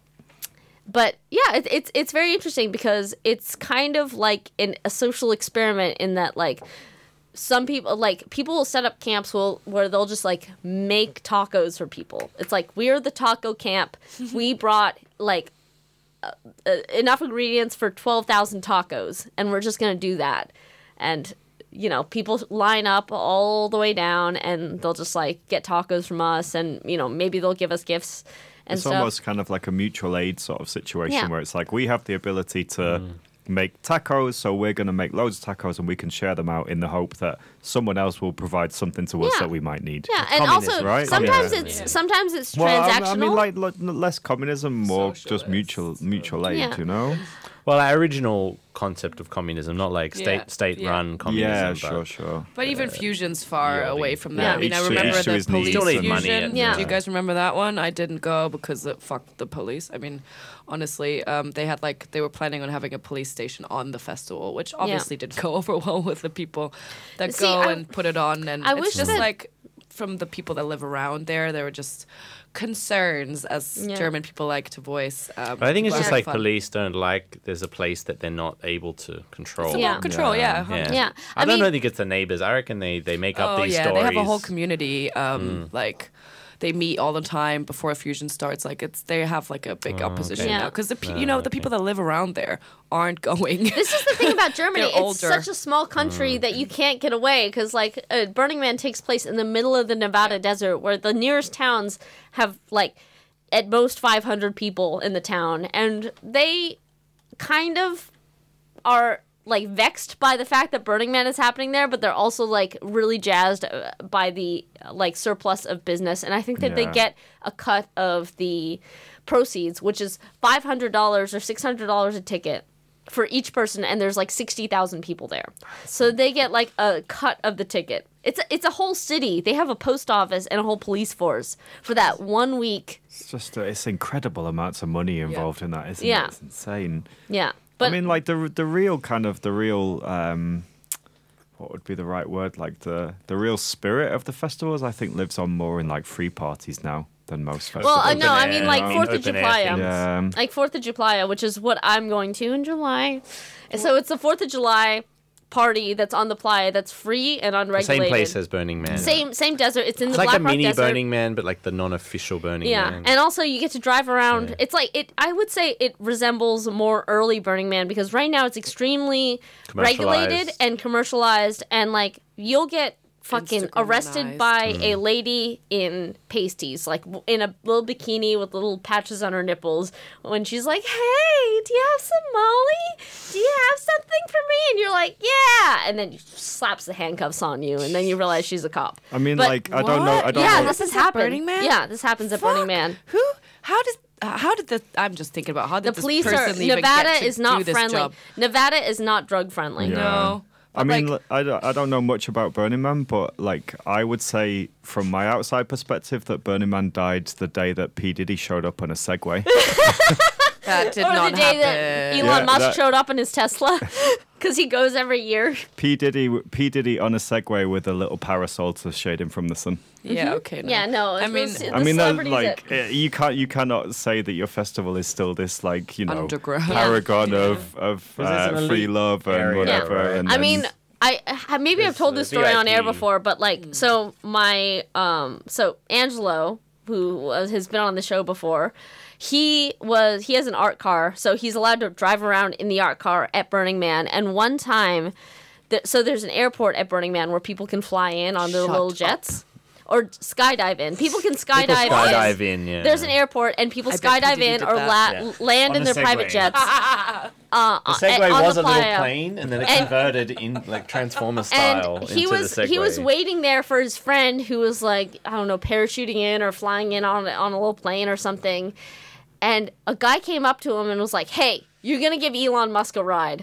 but yeah, it, it's it's very interesting, because it's kind of like an, a social experiment, in that, like, some people, like, people will set up camps will, where they'll just, like, make tacos for people. It's like, we're the taco camp. We brought, like, uh, uh, enough ingredients for twelve thousand tacos, and we're just going to do that. And, you know, people line up all the way down, and they'll just, like, get tacos from us, and, you know, maybe they'll give us gifts and It's stuff. almost kind of like a mutual aid sort of situation, Yeah. where it's like, we have the ability to make tacos, so we're going to make loads of tacos, and we can share them out in the hope that someone else will provide something to us Yeah. that we might need. Yeah, and Communism, also right? sometimes Yeah. it's sometimes it's Well, I- transactional. I mean, like, lo- less communism, more just Socialist. mutual mutual aid, Yeah. you know? Well, our original concept of communism, not like state Yeah, state yeah. run communism. Yeah, but sure, sure. But even Fusion's far yeah, away the- from that. Yeah. I mean, I Each to- remember each to the his needs. police Still need Fusion. money and, Yeah. Do you guys remember that one? I didn't go because it fucked the police. I mean, honestly, um, they had like they were planning on having a police station on the festival, which obviously didn't go over well with the people that See, go I- and put it on. And I it's wish just that- like from the people that live around there, there were just concerns, as Yeah. German people like to voice. Um, But I think it's about just like fun. police don't like there's a place that they're not able to control. It's Yeah. about control, yeah. Yeah. Yeah. I, I don't mean- think it's the neighbors. I reckon they, they make up Oh these yeah, stories. they have a whole community. Um, like they meet all the time before Fusion starts. Like it's they have like a big opposition okay. now, Yeah. because the pe- you know the people that live around there aren't going. This is the thing about Germany. They're It's older. such a small country that you can't get away, because, like, uh, Burning Man takes place in the middle of the Nevada desert, where the nearest towns have, like, at most five hundred people in the town, and they kind of are, like, vexed by the fact that Burning Man is happening there, but they're also, like, really jazzed uh, by the, uh, like, surplus of business, and I think that they Yeah. get a cut of the proceeds, which is five hundred dollars or six hundred dollars a ticket for each person, and there's like sixty thousand people there. So they get like a cut of the ticket. It's a, it's a whole city. They have a post office and a whole police force for that one week. It's just uh, it's incredible amounts of money involved in that, isn't Yeah. it? It's insane. Yeah. But I mean, like the the real kind of the real um, what would be the right word? Like the the real spirit of the festivals, I think, lives on more in like free parties now than most festivals. well, uh, open no, I air, mean like um, Fourth of open air July. things. Yeah. Like Fourth of July, which is what I'm going to in July. So it's the Fourth of July party that's on the playa that's free and The unregulated. same place as Burning Man. Same same desert. It's in It's the like Black a Rock mini Desert. Burning Man, but like the non-official Burning Yeah, Man. and also you get to drive around. Yeah. It's like it. I would say it resembles more early Burning Man, because right now it's extremely regulated Commercialized. and commercialized, and like you'll get fucking arrested Instagramized. by Hmm. a lady in pasties, like w- in a little bikini with little patches on her nipples, when she's like, "Hey, do you have some Molly? Do you have something for me?" And you're like, "Yeah," and then she slaps the handcuffs on you, and then you realize she's a cop. I mean, But- like I don't know. I don't yeah, know. this has Happens at happened. Burning Man? Yeah, this happens at Burning Fuck. Man. Who? How does? uh, How did this? I'm just thinking about how The did this police are. person even Nevada get to is not do this friendly. job? Nevada is not drug friendly. Yeah. No. I mean, like- l- I, don't, I don't know much about Burning Man, but like I would say from my outside perspective that Burning Man died the day that P Diddy showed up on a Segway. That did Or not the day that happen. Elon Yeah, Musk that- showed up in his Tesla, because he goes every year. P Diddy, P Diddy on a Segway with a little parasol to shade him from the sun. Yeah. Okay. No. Yeah, no. I it mean, was- I the mean, that, celebrities like that- eh, you can't you cannot say that your festival is still this like you know Underground. paragon of of Because it's uh, an free elite love and area, whatever. right? And I then- mean, I ha- maybe I've There's told the this story on air V I P. before, but like, so my um, so Angelo, who was, has been on the show before, he was he has an art car, so he's allowed to drive around in the art car at Burning Man. And one time, th- so there's an airport at Burning Man where people can fly in on their Shut little up. jets. Or skydive in. People can People skydive, skydive in, yeah. There's an airport, and people I bet skydive P. Diddy in did or that. la- Yeah. land On in a their Segway. private jets. uh, The Segway on was the a little playa. plane, and then it And- converted in like Transformer style And he into was the Segway. he was waiting there for his friend who was like, I don't know, parachuting in or flying in on on a little plane or something. and a guy came up to him and was like, "Hey, you're gonna give Elon Musk a ride."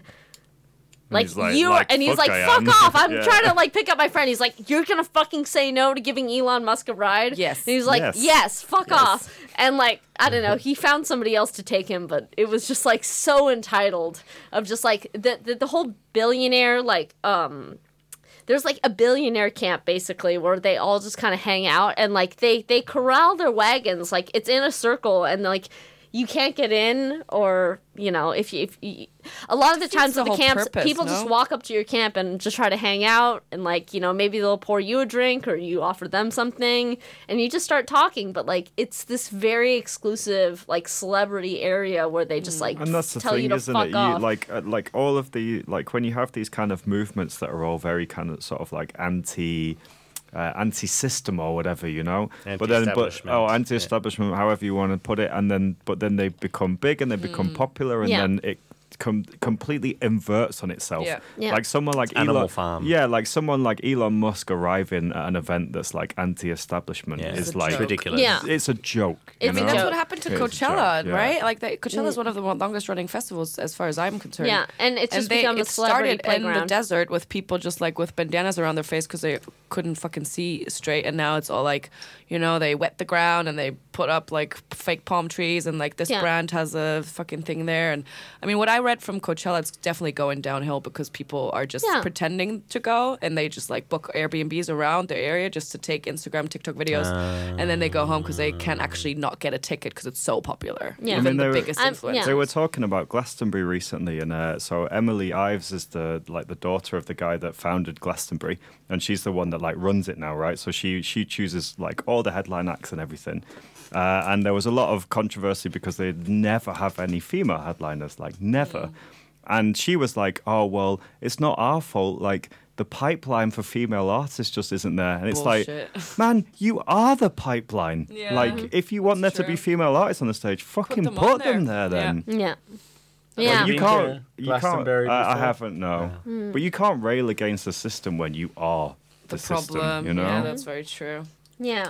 Like, he's like- you like, and he's "Fuck, like, I fuck am." off! I'm Yeah. trying to like pick up my friend. He's like, you're gonna fucking say no to giving Elon Musk a ride? Yes. And he's like, Yes. yes, fuck off. And like, I don't know, he found somebody else to take him, but it was just like so entitled of just like the the, the whole billionaire like um. There's like a billionaire camp basically where they all just kind of hang out and like they they corral their wagons, like it's in a circle and like you can't get in, or you know if you, if you a lot of the times the at the whole camps purpose, people no? just walk up to your camp and just try to hang out, and like you know maybe they'll pour you a drink or you offer them something and you just start talking, but like it's this very exclusive like celebrity area where they just like And that's the tell thing, you to isn't fuck it? You off. like uh, like all of the like when you have these kind of movements that are all very kind of sort of like anti. Uh, anti-system or whatever, you know, but then, but Anti-establishment. oh, anti-establishment, however you want to put it, and then, but then they become big and they become popular, and Yeah. then it com- completely inverts on itself. Yeah. Yeah. Like someone like Animal Elon, Farm. yeah, like someone like Elon Musk arriving at an event that's like anti-establishment Yeah, is It's a like joke. ridiculous. Yeah. it's a joke. It's you a I mean, know? that's joke. what happened to It is a Coachella, joke, yeah. right? Like, the, Coachella is one of the longest running festivals, as far as I'm concerned. Yeah, and it's just they, become a it celebrity started in the playground. desert with people just like with bandanas around their face because they couldn't fucking see straight, and now it's all like, you know, they wet the ground and they put up like fake palm trees, and like this Yeah. brand has a fucking thing there. And I mean, what I read from Coachella, it's definitely going downhill because people are just Yeah. pretending to go, and they just like book Airbnbs around their area just to take Instagram, TikTok videos, and then they go home because they can't actually not get a ticket because it's so popular. Yeah. I Even mean, the they were- biggest I'm- influencer. yeah. They were talking about Glastonbury recently, and uh, so Emily Ives is the like the daughter of the guy that founded Glastonbury, and she's the one that like runs it now, right? So she she chooses like all the headline acts and everything. Uh, and there was a lot of controversy because they never have any female headliners, like never. And she was like, "Oh well, it's not our fault. Like the pipeline for female artists just isn't there." And it's Bullshit. like, man, you are the pipeline. Yeah. Like if you want It's there to be true. female artists on the stage, fucking them put, on there. them there then. Yeah. Well, Yeah. you You been can't. to You can't. Glastonbury I, I before? haven't. No. But you can't rail against the system when you are the, the system. problem. You know. Yeah, that's very true. Yeah.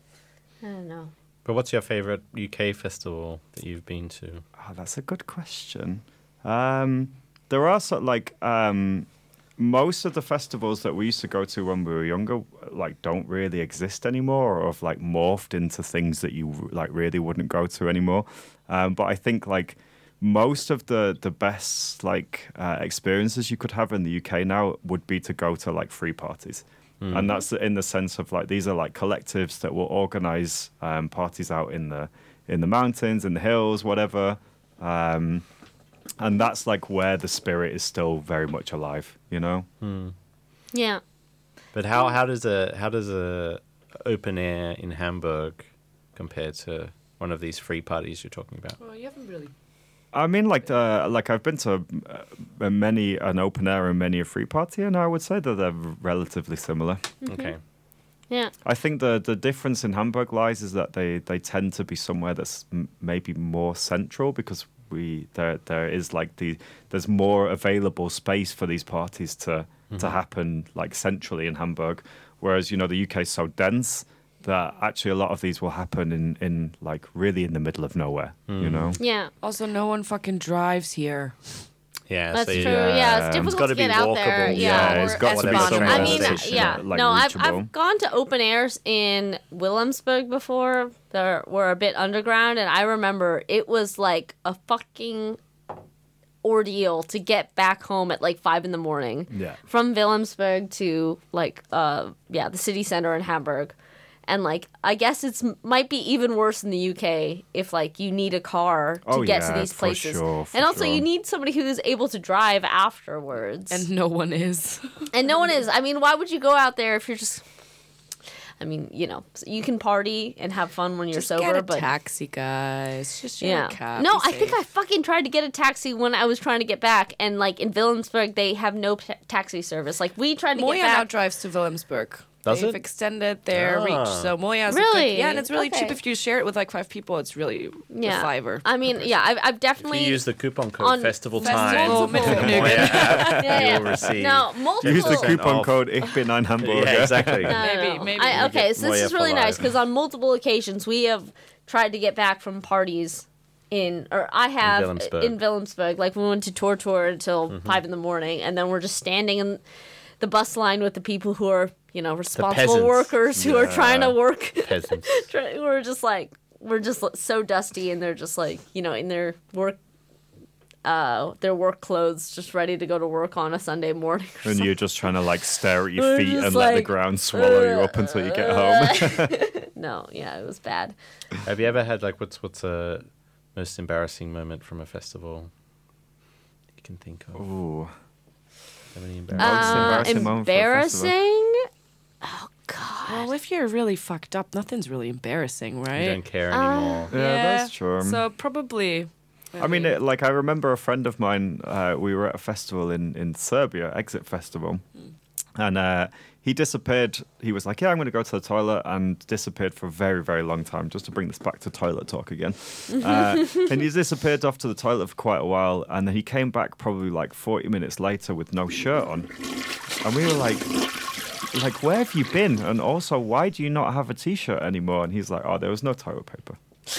I don't know. But what's your favorite U K festival that you've been to? Oh, that's a good question. Um, there are sort of like um, most of the festivals that we used to go to when we were younger, like don't really exist anymore, or have like morphed into things that you like really wouldn't go to anymore. Um, but I think like most of the the best like uh, experiences you could have in the U K now would be to go to like free parties. And that's in the sense of like these are like collectives that will organize um, parties out in the in the mountains, in the hills, whatever. Um, and that's like where the spirit is still very much alive, you know. Yeah. But how, how does a how does a open air in Hamburg compare to one of these free parties you're talking about? Well, you haven't really. I mean, like the like I've been to uh, many an open air and many a free party, and I would say that they're relatively similar. Okay. Yeah. I think the the difference in Hamburg lies is that they, they tend to be somewhere that's m- maybe more central because we there there is like the there's more available space for these parties to to happen like centrally in Hamburg, whereas you know the U K is so dense that actually a lot of these will happen in in like really in the middle of nowhere, you know. Yeah. Also, no one fucking drives here. Yeah, That's so you- true. Yeah, it's it's difficult gotta to get be out there. walkable. Yeah. Yeah, it's Or got to be S-Bahn. somewhere I Rail mean, that's, yeah, uh, like no, I've, reachable. I've gone to open airs in Williamsburg before that were a bit underground, and I remember it was like a fucking ordeal to get back home at like five in the morning. Yeah. From Williamsburg to like, uh, yeah, the city center in Hamburg. And like, I guess it's might be even worse in the U K if like you need a car to Oh, get yeah, to these for places. sure, for and also, sure. you need somebody who is able to drive afterwards. And no one is. And no one is. I mean, why would you go out there if you're just? I mean, you know, you can party and have fun when you're Just sober, get a but taxi, guys. Just share yeah. a cab. No, Be I think safe. I fucking tried to get a taxi when I was trying to get back, and like in Williamsburg, they have no ta- taxi service. Like we tried to Moya get now back. drives to Williamsburg. Does They've it? extended their Ah. reach. So Moya's a Really? good- yeah, and it's really Okay. cheap if you share it with like five people. It's really Yeah, a fiver. I mean, yeah, I've, I've If definitely you use the coupon code on Festival Festival Time, multiple- on the Moya app, yeah, yeah. you'll receive. No, multiple. Use the coupon off. code Ich bin ein Hamburger. Yeah, exactly. No, no, Maybe- no. maybe I, we okay, get so this Moya is really for nice life. because on multiple occasions we have tried to get back from parties in, or I have In Willemsburg. in Willemsburg. Like we went to tour tour until Mm-hmm. five in the morning, and then we're just standing in the bus line with the people who are, you know, responsible peasants. workers who are trying to work. Peasants. Try- we're just like we're just so dusty, and they're just like, you know, in their work. Uh, their work clothes, just ready to go to work on a Sunday morning. Or And you're just trying to like stare at your We're feet just and let the like, ground swallow you up until you get home. No, yeah, it was bad. Have you ever had like what's what's a most embarrassing moment from a festival you can think of? Ooh. Have any embarrassing? Most Uh, embarrassing moment for a festival? embarrassing? Oh God. Well, if you're really fucked up, nothing's really embarrassing, right? You don't care Uh, anymore. Yeah, that's true. So probably. I mean, it, like I remember a friend of mine. Uh, we were at a festival in in Serbia, Exit Festival, and uh, he disappeared. He was like, "Yeah, I'm going to go to the toilet," and disappeared for a very, very long time. Just to bring this back to toilet talk again, uh, and he disappeared off to the toilet for quite a while, and then he came back probably like forty minutes later with no shirt on, and we were like. Like, where have you been? And also, why do you not have a t-shirt anymore? And he's like, oh, there was no toilet paper.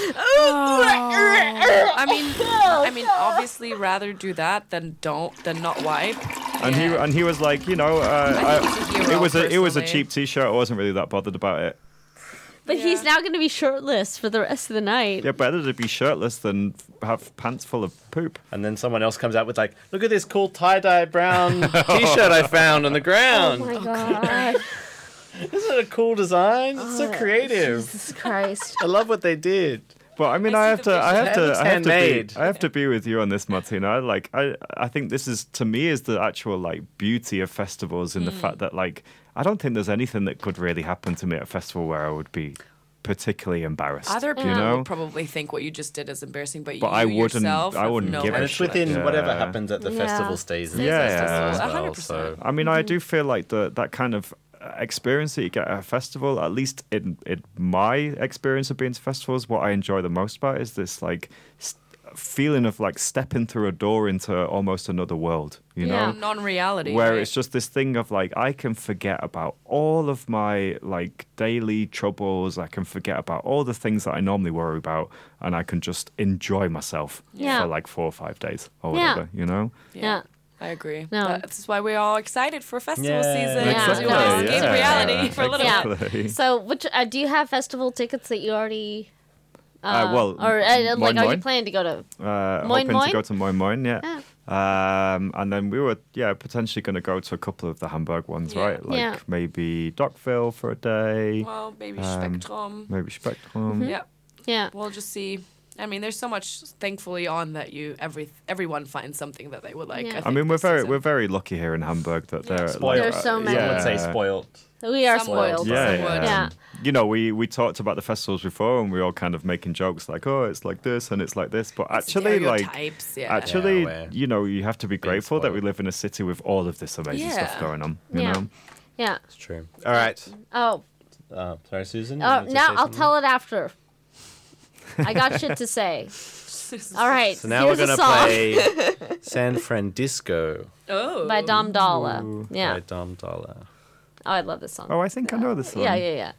I mean, I mean, obviously, rather do that than don't than not wipe. And he and he was like, you know, uh, think he's a I- hero, it was a it was a personally. cheap t-shirt. I wasn't really that bothered about it. But he's Yeah. now going to be shirtless for the rest of the night. Yeah, better to be shirtless than have pants full of poop. And then someone else comes out with like, look at this cool tie-dye brown t-shirt I found on the ground. Oh my God. Isn't it a cool design? It's so creative. Jesus Christ. I love what they did. But I mean, I I, see have the to, I have vision. to, It's I have to be, handmade. I have to be with you on this, Martina. I like, I, I think this is to me is the actual like beauty of festivals in the fact that like I don't think there's anything that could really happen to me at a festival where I would be particularly embarrassed. Other people you know, would probably think what you just did is embarrassing, but, But you I wouldn't- yourself I have wouldn't no give a And right it's to within Yeah. whatever happens at the Yeah. festival stays in Yeah. the festival as A well. hundred percent. So I mean, I do feel like the that kind of uh, experience that you get at a festival, at least in, in my experience of being to festivals, what I enjoy the most about is this like st- feeling of like stepping through a door into almost another world, you Yeah. know? non-reality. Where right? it's just this thing of like I can forget about all of my like daily troubles. I can forget about all the things that I normally worry about, and I can just enjoy myself Yeah. for like four or five days or Yeah. whatever, you know? Yeah. I agree. No. That's why we're all excited for festival Yeah. season. Yeah. Because we No. want to escape Yeah. reality for a little Yeah. bit. Exactly. So, which uh, do you have festival tickets that you already? Uh, well, or uh, like, Moin are you Moin. planning to go to? Uh, Moin hoping Moin? to go to Moin Moin, yeah. Yeah. Um, and then we were, yeah, potentially going to go to a couple of the Hamburg ones, Yeah. right? Like Yeah. maybe Dockville for a day, Well, maybe Um, Spectrum. maybe Spectrum. Yeah, Yeah. we'll just see. I mean, there's so much, thankfully, on that you every everyone finds something that they would like. Yeah. I, I think, mean, we're this very season. we're very lucky here in Hamburg that Yeah. they're Spoiled. like, There's so uh, many. I would say yeah. spoiled. We are Somewhat. spoiled. Yeah, Somewhat. yeah. Yeah. You know, we, we talked about the festivals before, and we were all kind of making jokes like, "Oh, it's like this and it's like this," but actually, like, Stereotypes, yeah. actually, Yeah, we're you know, you have to be being grateful that we spoiled. live in a city with all of this amazing stuff Yeah. going on. You Yeah. know, Yeah. It's true. All right. Oh. Uh, sorry, Susan. you Oh. wanted to Now say I'll something? tell it after. I got shit to say. All right. So now here's we're a gonna song play San Francisco Oh. by Dom Dalla. Yeah. by Dom Dollar. Oh, I love this song. oh, I think I know this one. Yeah, yeah, yeah.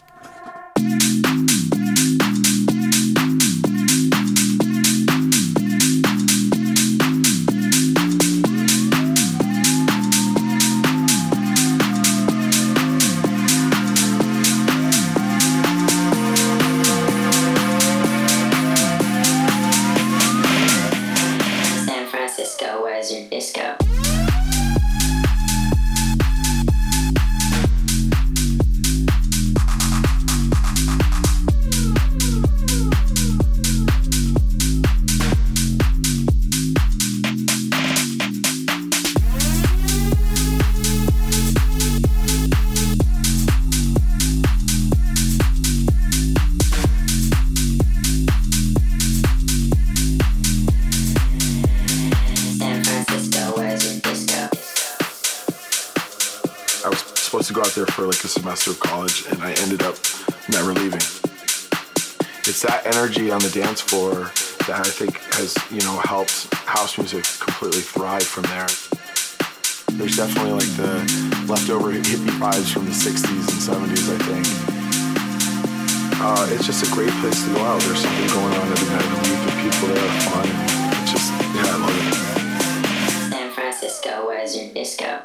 San Francisco, where's your disco? San Francisco, where's your disco? I was supposed to go out there for like a semester of college, and I ended up never leaving. It's that energy on the dance floor that I think has, you know, helped house music completely thrive from there. There's definitely like the leftover hippie vibes from the sixties and seventies, I think. Uh, it's just a great place to go out. There's something going on every night of the week, and people there are fun. And it's just, yeah, I love it. San Francisco, where's your disco?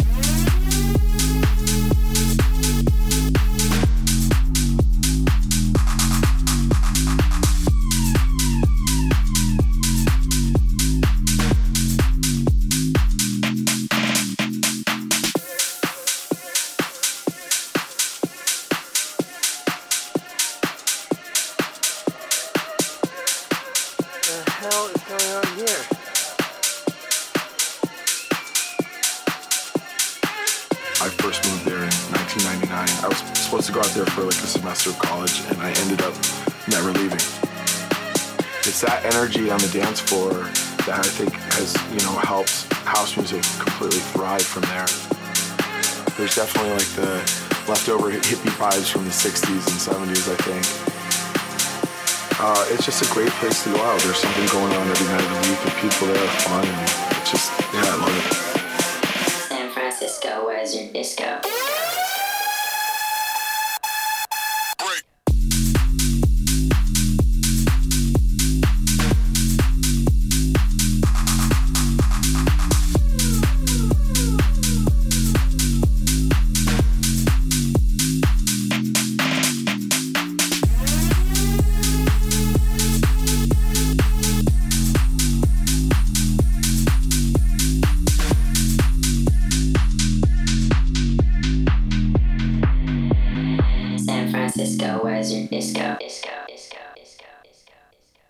For like a semester of college, and I ended up never leaving. It's that energy on the dance floor that I think has, you know, helped house music completely thrive from there. There's definitely like the leftover hippie vibes from the sixties and seventies, I think. Uh, it's just a great place to go out. There's something going on every night of the week, and people there are fun, and it's just, yeah, I love it. San Francisco, where's your disco? Disco, where's your disco? Disco, disco, disco, disco, disco.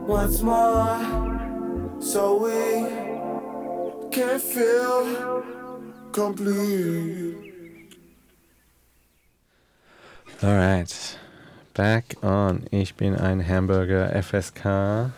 once more, so we can feel complete. Alright. Back on Ich bin ein Hamburger F S K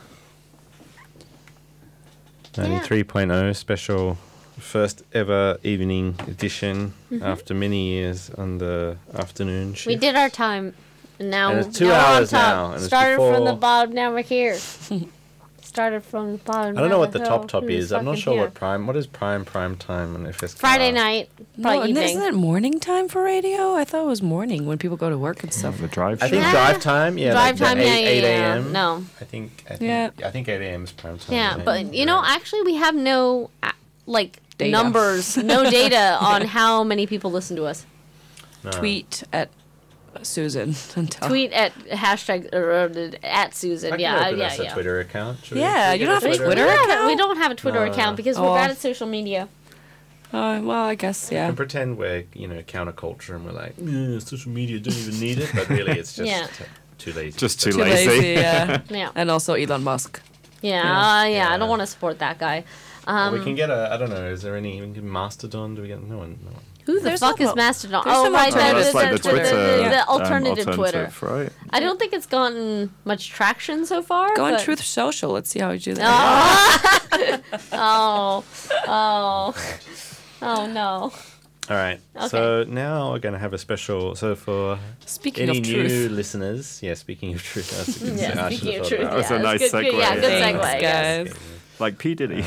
ninety-three point oh special first ever evening edition Mhm. after many years on the afternoon shift. We did our time. And now, And it's two now we're on hours top. now, and it's Started from the before- bottom, now we're here. Started from the bottom. I don't know now what the we're top here. top Who's is. I'm not fucking sure here? what prime. What is prime prime time on F S K? Friday night, No, probably and evening. isn't it morning time for radio? I thought it was morning when people go to work and stuff. The drive I think Yeah. drive time. Yeah, Drive like the time, yeah, eight, yeah, eight yeah. a.m. No. I think. I think Yeah. I think eight a.m. is prime time. Yeah, right? but you know, actually, we have no uh, like Data. numbers, no data on how many people listen to us. No. Tweet at Susan and tell. Tweet at hashtag uh, at Susan. I can yeah, open yeah, us a yeah. Twitter account. Should we- Yeah, should we you get don't have a We, Twitter we don't account? have, we don't have a Twitter No. account because Oh. we're bad at social media. Oh, well, I guess, We yeah. can pretend we're, you know, counterculture and we're like, "Yeah, social media don't even need it, but really it's just Yeah. t- too lazy. Just too Too lazy. lazy, yeah. Yeah, And also Elon Musk. yeah, Yeah. uh, yeah. I Yeah. don't want to support that guy. Or Um, we can get a, I don't know, is there any, we can get Mastodon? Do we get, no one, no one. who the There's fuck some is al- Mastodon? there's Oh, some right, Oh, that that's is like the, the Twitter, the, the um, alternative Twitter. right? I don't think it's gotten much traction so far. Go on but- Truth Social. Let's see how you do that. Oh, oh, oh no. All right. Okay. So now we're going to have a special, so for Speaking any of new truth. listeners, yeah, speaking of truth, that's a good Yeah, se- I speaking should've of thought truth, about That was yeah, a it's nice good, good- segue. Yeah, good Thanks, segue. yes. guys. Like P. Diddy.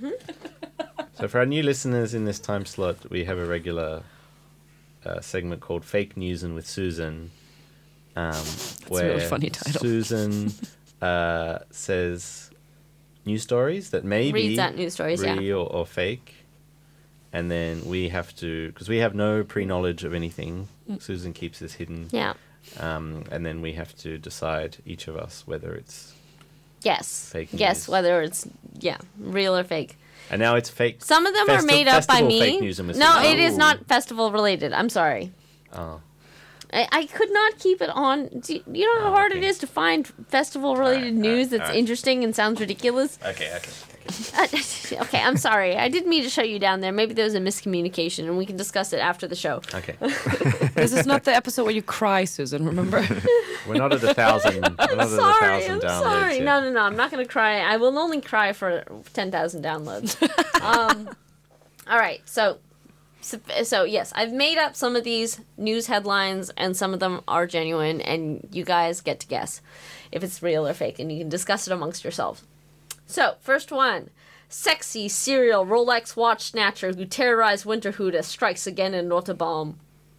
So for our new listeners in this time slot, we have a regular uh, segment called Fake News and with Susan, um, a where really funny title. Susan uh, says news stories that may Reads be out news stories, yeah. real or fake, and then we have to, because we have no pre-knowledge of anything. Susan keeps this hidden, Yeah. um, and then we have to decide each of us whether it's Yes. Fake Yes, news. whether it's yeah, real or fake. and now it's fake. Some of them are Festi- made up by festival me. fake news and with no, Susan. it is Oh. not festival related. I'm sorry. Oh. I, I could not keep it on. Do you, you know how Oh, hard okay. it is to find festival related Alright, news alright, that's alright. interesting and sounds ridiculous? Okay, okay, okay. Uh, okay, I'm sorry. I didn't mean to shut you down there. Maybe there was a miscommunication, and we can discuss it after the show. Okay. This is not the episode where you cry, Susan, remember? We're not at a thousand. We're not at a Sorry, thousand I'm downloads sorry. yet. No, no, no. I'm not going to cry. I will only cry for ten thousand downloads. um, all right. So, so, so, yes, I've made up some of these news headlines, and some of them are genuine, and you guys get to guess if it's real or fake, and you can discuss it amongst yourselves. So, first one. Sexy serial Rolex watch snatcher who terrorized Winterhude strikes again in Rotterdam.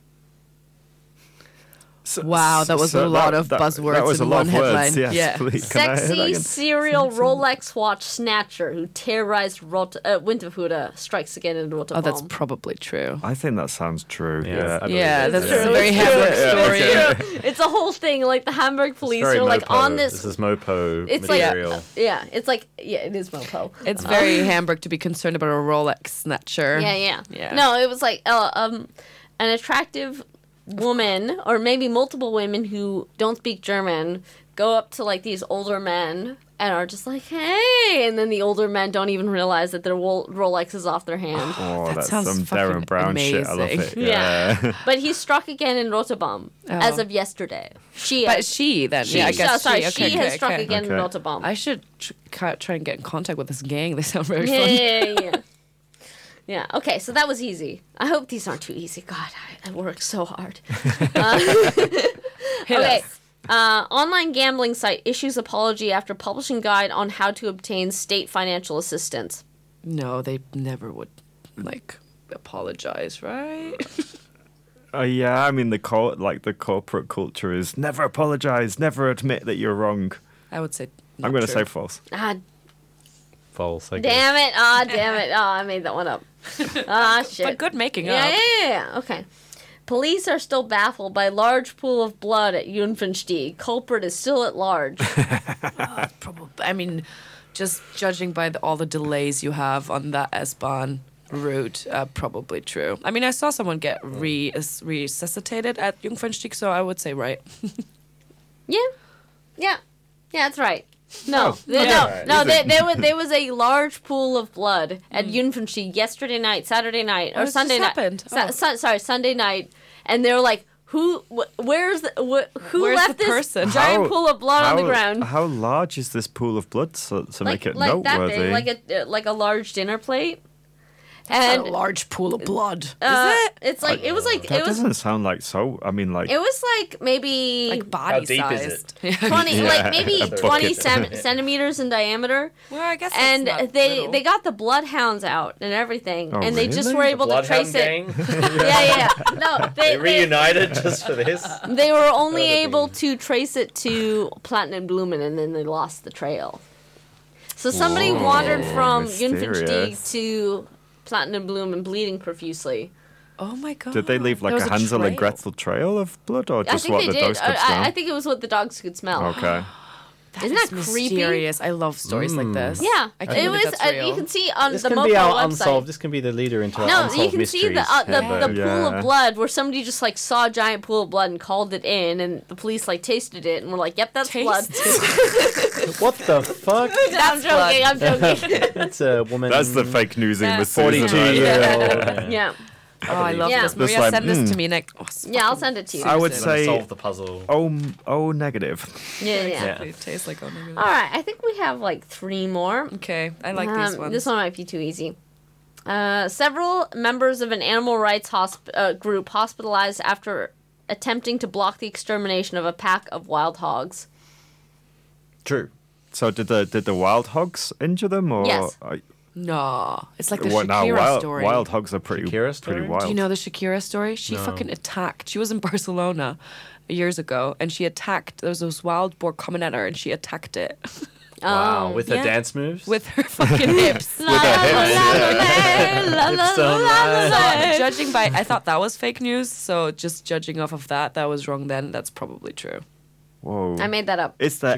So- Wow, that was so a lot that- of that- buzzwords That was a in lot one of words. headline. Yes, Yeah. please. Can I hear that Sexy again? serial Rolex watch snatcher who terrorized Rot- uh, Winterhude strikes again in Oh, Rotterdam. that's probably true. I think that sounds true. Yeah, Yeah. I believe Yeah, it. that's Yeah. a very Hamburg story. okay. It's a whole thing. Like the Hamburg police Very are like Mopo. on this. This is Mopo it's like material. yeah, it's like yeah, it is Mopo. It's very Hamburg to be concerned about a Rolex snatcher. Yeah, yeah, Yeah. No, it was like uh, um, an attractive woman, or maybe multiple women who don't speak German, go up to like these older men and are just like, "Hey," and then the older men don't even realize that their Wol- Rolex is off their hand. Oh, That that's sounds some fucking Darren Brown shit. I love amazing. it. Yeah. Yeah. But he struck again in Rotterdam as Oh. of yesterday. She, But she then, she, yeah, I guess so- sorry, she, she okay, has okay, struck okay. again in Okay. Rotterdam. I should tr- ca- try and get in contact with this gang. They sound very yeah, fun. yeah, yeah, yeah. Yeah, okay, so that was easy. I hope these aren't too easy. God, I, I work so hard. Uh, okay. Uh, online gambling site issues apology after publishing guide on how to obtain state financial assistance. No, they never would, like, apologize, right? Uh, yeah, I mean the co- like the corporate culture is never apologize, never admit that you're wrong. I would say I'm not going to true. say false. Ah, False, I guess. damn it. Ah, damn it. Oh, I made that one up. Ah, shit. But good making Yeah, up. yeah, yeah, yeah. Okay. Police are still baffled by large pool of blood at Jungfernstieg. Culprit is still at large. Probably. I mean, just judging by the, all the delays you have on that S-Bahn route, uh, probably true. I mean, I saw someone get re- resuscitated at Jungfernstieg, so I would say right. Yeah. Yeah. Yeah, that's right. No, they, okay. no, Alright. no. Is They, it? there was there was a large pool of blood at Yunfenshi yesterday night, Saturday night, or Oh, this Sunday just night. happened. Su- Oh. sun- sorry, Sunday night, and they were like, "Who? Wh- where's the? Wh- who Where's left the this person? giant How- pool of blood on the how- ground?" How large is this pool of blood to, to like make it like that noteworthy? big, like a uh, like a large dinner plate. And And a large pool of blood. uh, Is it? It's like it was like that it was doesn't sound like so. I mean, like it was like maybe Like body deep is sized. twenty, Yeah, like maybe a bucket. twenty cem- centimeters in diameter. Well, I guess that's And not they little. they got the bloodhounds out and everything, Oh, and they just really? were able to Bloodhound trace it. gang. Yeah, yeah, yeah. No, they, They they, reunited just for this. they were only That'd able be- to trace it to Platinum Blumen, and then they lost the trail. So somebody Whoa, wandered from Yunfensteig mysterious. to Platinum Blumen, bleeding profusely. Oh my god. did they leave like There a was Hansel and trail. Gretel trail of blood, or I just think what they the did. dogs could I, smell? I think it was what the dogs could smell. Okay. Isn't that It's creepy? mysterious. I love stories like this. Yeah, I can't it believe was. that's Uh, real. you can see on This the can Mopo be our website. unsolved. This can be the leader into our No, unsolved you can see the mysteries. uh, the, the Hamburg. pool Yeah. of blood where somebody just like saw a giant pool of blood and called it in, and the police like tasted it and were like, "Yep, that's blood." What the fuck? I'm joking. I'm joking. That's a woman. That's the fake newsing Yeah. with Susan. forty-two right? year old. yeah, Oh, I love Yeah. this. Just Maria, like, send this mm. to me next. Oh, it's yeah. I'll fucking- send it to you. I would Susan. say Solve the puzzle. oh, oh negative. Yeah, yeah. Yeah. It tastes like oh my god. All right, I think we have like three more. Okay, I like these Um, ones. This one might be too easy. Uh, several members of an animal rights hosp- uh, group hospitalized after attempting to block the extermination of a pack of wild hogs. True. So did the did the wild hogs injure them, or Yes. I- No, it's like the what now? Shakira Wild, story. wild hogs are pretty Shakira story? pretty wild. Do you know the Shakira story? She No. fucking attacked. She was in Barcelona years ago, and she attacked. There was this wild boar coming at her, and she attacked it Wow. With yeah. her dance moves. with her fucking hips. La, la, la, la, la, la, Hips don't la, lie. la. So, judging by, I thought that was fake news. So just judging off of that, that was wrong. Then that's probably true. Whoa. I made that up. Is there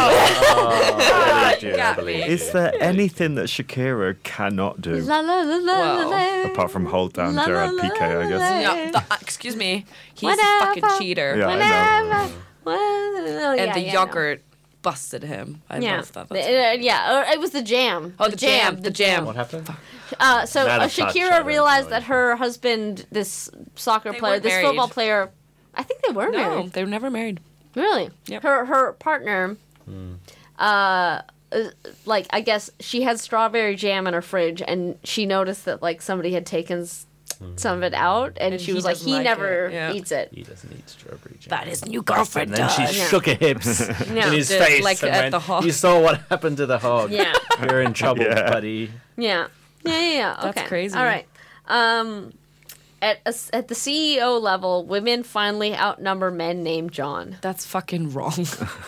I believe you, I got believe me. you. is there anything that Shakira cannot do La, la, la, la, Well, la, apart from hold down La, la, Gerard la, Piqué? I la, guess. la. Yeah, the- uh, excuse me. He's Whatever. a fucking cheater. Yeah, I know. Whatever. Well, And yeah, the yeah, yogurt busted him. I Yeah, love that. The- That's uh, yeah. Or it was the jam. Oh, the jam, the jam. What happened? Uh, so Not uh, a touch, I Shakira don't realized know that her husband, this soccer They player, weren't this married. football player, I think they were no, married. they were never married. Really? Yep. Her her partner, uh, uh, like I guess she had strawberry jam in her fridge, and she noticed that like somebody had taken s- some of it out, and, And she he was like, doesn't he like never it, yeah. eats it. He doesn't eat strawberry jam. That his new girlfriend And then she does. Yeah. shook her hips Yeah. in his Did, face. like, and at went, the hog. You saw what happened to the hog. Yeah. You're in trouble, Yeah. buddy. Yeah. Yeah, yeah, yeah. That's Okay. crazy. All right. Um, at a s at the C E O level, women finally outnumber men named John. That's fucking wrong.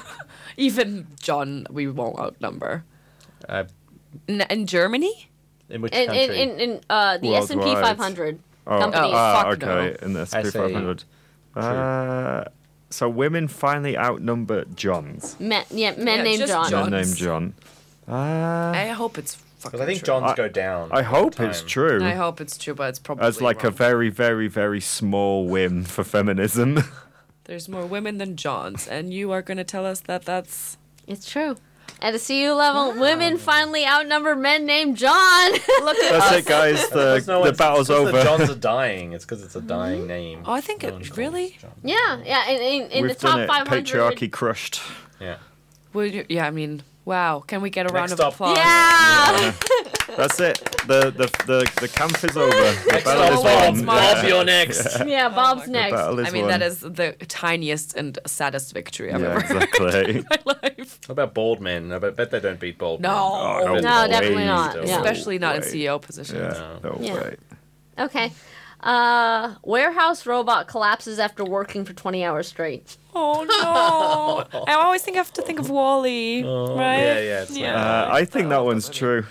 Even John, we won't outnumber. Uh, In, in Germany? in which In country? in, in, in uh, the S and P Worldwide. five hundred Oh, company. ah, Fuck okay. In the S I and P say five hundred. Uh, so women finally outnumber Johns. Men, yeah, men Yeah, named just John. John. Men Johns. named John. Uh, I hope it's fucking Because I think true. Johns I- go down. I hope over it's time. true. I hope it's true, but it's probably As like a wrong. very, very, very small win for feminism. There's more women than Johns, and you are going to tell us that that's... It's true. At the C E O level, women finally outnumber men named John. Look at That's us. it, guys. The, Because no the one's- battle's it's 'cause over. The Johns are dying. It's because it's a dying name. Oh, I think No it- one's called really? John. yeah, yeah. In, in, in the We've top done it. five hundred. Patriarchy crushed. Yeah. Well, you- yeah, I mean, wow. Can we get a round Next of up. applause? Yeah. That's it. The the the, the camp is over. The Next battle up, is Bob. won. Bob, you're next. Yeah, Bob's The next. battle is I mean, won. that is the tiniest and saddest victory I've Yeah, ever heard exactly. in my life. What about bald men? I bet bet they don't beat bald No. men. Oh, no, No, way. definitely not. No Yeah. Especially not in way. C E O positions. Yeah, no Yeah. way. Okay. Uh, warehouse robot collapses after working for twenty hours straight. Oh, no. I always think I have to think of Wall-E, right? Yeah, yeah. It's like- Uh, I think that one's true.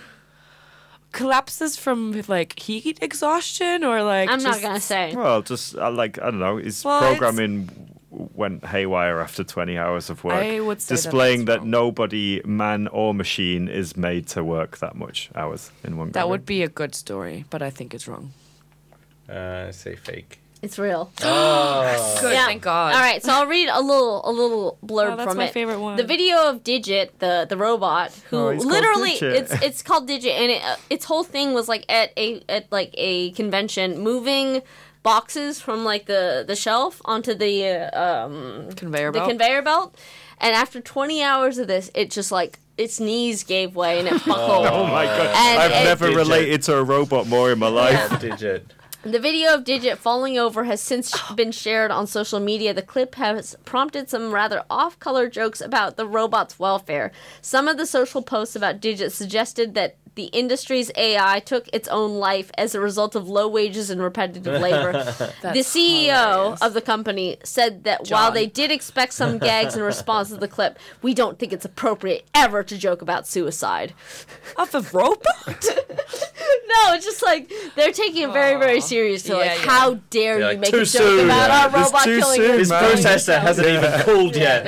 Collapses from, like, heat exhaustion or, like... I'm not just- gonna say. Well, just uh, like I don't know, his Well, it's- programming w- went haywire after twenty hours of work, I would say that displaying that's that, wrong. nobody, man or machine, is made to work that much hours in one. That go. would be a good story, but I think it's wrong. Uh, say fake. It's real. Oh. Good, thank God. All right, so I'll read a little a little blurb Oh, that's from my it. favorite one. The video of Digit, the the robot, who Oh, he's called literally Digit. it's it's called Digit, and it, uh, its whole thing was like at a at like a convention, moving boxes from like the the shelf onto the uh, um Conveyor the belt. conveyor belt, and after twenty hours of this, it just like its knees gave way and it buckled. Oh my god! And I've it- never Digit. related to a robot more in my life. Digit. The video of Digit falling over has since been shared on social media. The clip has prompted some rather off-color jokes about the robot's welfare. Some of the social posts about Digit suggested that the industry's A I took its own life as a result of low wages and repetitive labor. The C E O hilarious. of the company said that while John. they did expect some gags in response to the clip, we don't think it's appropriate ever to joke about suicide. Of a robot? No, it's just like they're taking it very, very seriously. Yeah, like, yeah. how dare Yeah, you like, make too a joke soon. about Yeah, our it's robot too killing soon, his man. killing Processor himself. hasn't even cooled yet.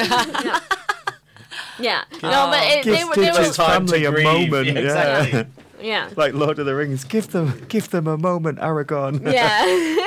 Yeah, no, but it, they Give were, they Digit's were, time family to a grieve. moment. Yeah, Yeah, exactly. yeah, like Lord of the Rings. Give them, give them a moment, Aragorn. yeah,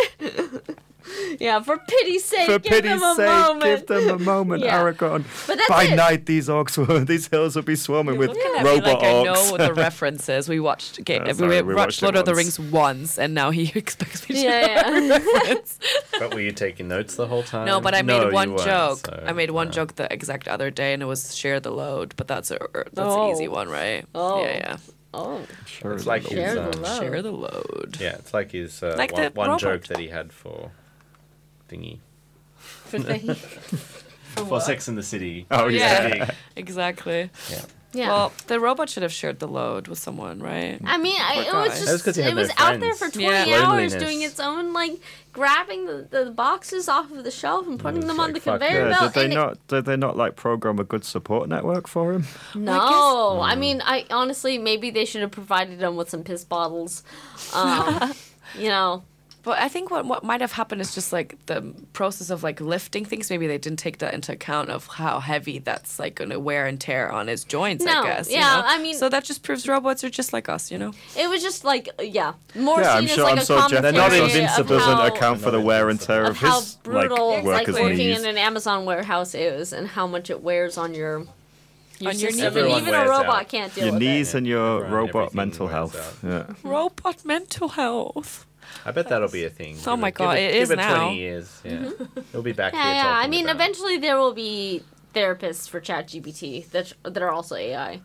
yeah. For pity's sake, For give pity's them a sake, moment. give them a moment, Yeah. Aragorn. But that's By it. night, these orcs will, these hills will be swarming with Looking at me robot like I orcs. know the references. We watched Ga- Uh, we, sorry, we watched watched Lord it of the once. Rings once, and now he expects me to Yeah, know every yeah. reference. But were you taking notes the whole time? No, but I No, made you one weren't, joke. so, I made one yeah. joke the exact other day, and it was share the load. But that's a that's Oh. an easy one, right? Oh. Yeah, yeah. Oh, Sure, It's like his, share the um, love. Share the load. Yeah, it's like his uh, Like one, the one robot. joke that he had for thingy. for the, For Sex in the City. Oh yeah. Yeah, exactly. Yeah. yeah. Well, the robot should have shared the load with someone, right? I mean, I, Poor it guy. was That's just 'cause he had it no was out there friends. for twenty Yeah. hours Loneliness. doing its own like grabbing the, the boxes off of the shelf and putting was them on like, the fuck conveyor Yeah, belt. did they and it- not? Did they not like program a good support network for him? No, I, mean, I honestly maybe they should have provided them with some piss bottles. Um, you know, But I think what what might have happened is just like the process of like lifting things. Maybe they didn't take that into account of how heavy that's like going to wear and tear on his joints. No, I guess. you yeah, know? I mean- so that just proves robots are just like us, you know. it was just like yeah, more Yeah, seen I'm as sure. like I'm a sure Jeff commentary They're not Bezos invincible. of doesn't how, account for the Not wear and tear of of how his brutal like it's like workers' working knees. in an Amazon warehouse is, and how much it wears on your your On your system. knees. And Everyone even a wears robot out. can't deal Your with knees it. and your Everyone- robot everything mental wears health. out. Yeah. Robot mental health. I bet that'll be a thing. Oh Give my it- God, give it give is it now. twenty years. Yeah, it'll be back Yeah, here yeah. talking I mean, about. eventually there will be therapists for ChatGPT that that are also A I.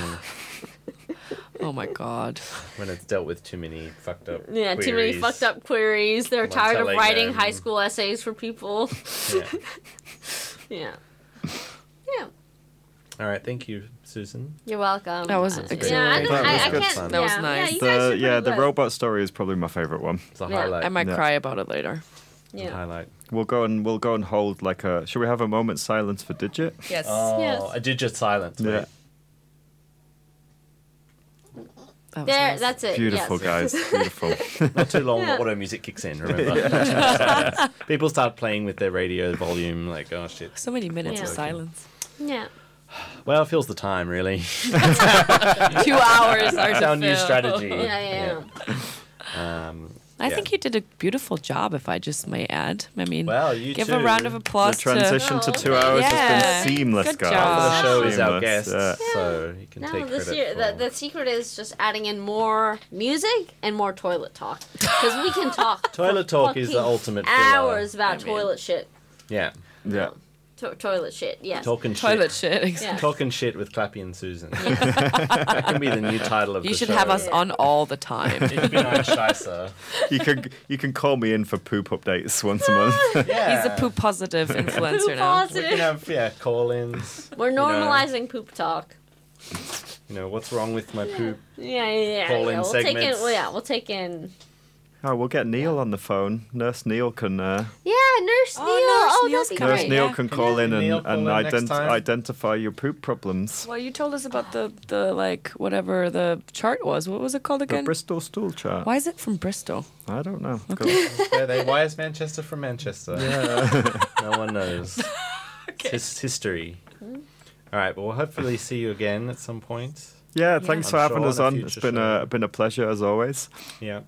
Oh my God. when it's dealt with too many fucked up. Yeah, too many queries. fucked up queries. They're Someone tired of telling writing them- high school essays for people. Yeah. Yeah. Yeah. All right, thank you, Susan. You're welcome. That was Uh, exhilarating. Yeah, I, don't, That I, was I good can't. fun. That was yeah, nice. Yeah, you guys The are yeah, pretty the good. robot story is probably my favorite one. It's a Yeah. highlight. I might Yeah. cry about it later. It's a Yeah. highlight. We'll go and we'll go and hold like a. Should we have a moment's silence for Digit? Yes. Oh, Yes. a digit silence. Yeah. Wait. That was There, nice. that's it. Beautiful yes. guys, beautiful. Not too long, Yeah. the auto music kicks in, remember? People start playing with their radio volume, like, oh shit. So many minutes Yeah. of silence. Yeah. Well, it fills the time, really. Two hours are That's to our new fill. strategy. Yeah, yeah. Yeah. Um, I yeah. think you did a beautiful job, if I just may add. I mean, Well, you give too. a round of The applause to. transition to Oh, two hours yeah. has been seamless, Good guys. job. The show is our Seamless, guest, yeah. so you can No, take the, credit se- for the the secret is just adding in more music and more toilet talk, because we can talk. Toilet for talk is the fucking ultimate filler. hours about I mean- toilet shit. Yeah. Yeah. To- toilet shit. Yes. Talking Toilet shit. shit. Yeah. Talking shit with Clappy and Susan. that can be the new title of You the should show. have us on all the time. Ich bin ein Scheißer. You can you can call me in for poop updates once a month. Yeah. He's a poop positive influencer Poop now. We positive. can have, yeah, call-ins. We're you know. normalizing poop talk. You know, what's wrong with my poop? Yeah, yeah, yeah. Call-in yeah. We'll take in. segments. Well, yeah, we'll take in. Oh, we'll get Neil on the phone. Nurse Neil can. Uh, Yeah, Nurse Oh, Neil. Nurse Oh, Neil's that'd be coming. Nurse great. Neil yeah. can call in and, Neil call and in next ident- time? identify your poop problems. Well, you told us about the, the like whatever the chart was. What was it called The again? Bristol stool chart. Why is it from Bristol? I don't know. Where they, why is Manchester from Manchester? No one knows. Okay. It's his history. All right, well, we'll hopefully see you again at some point. Yeah, thanks I'm for having sure us on a on. It's future been show. a been a pleasure as always. Yeah. Yeah.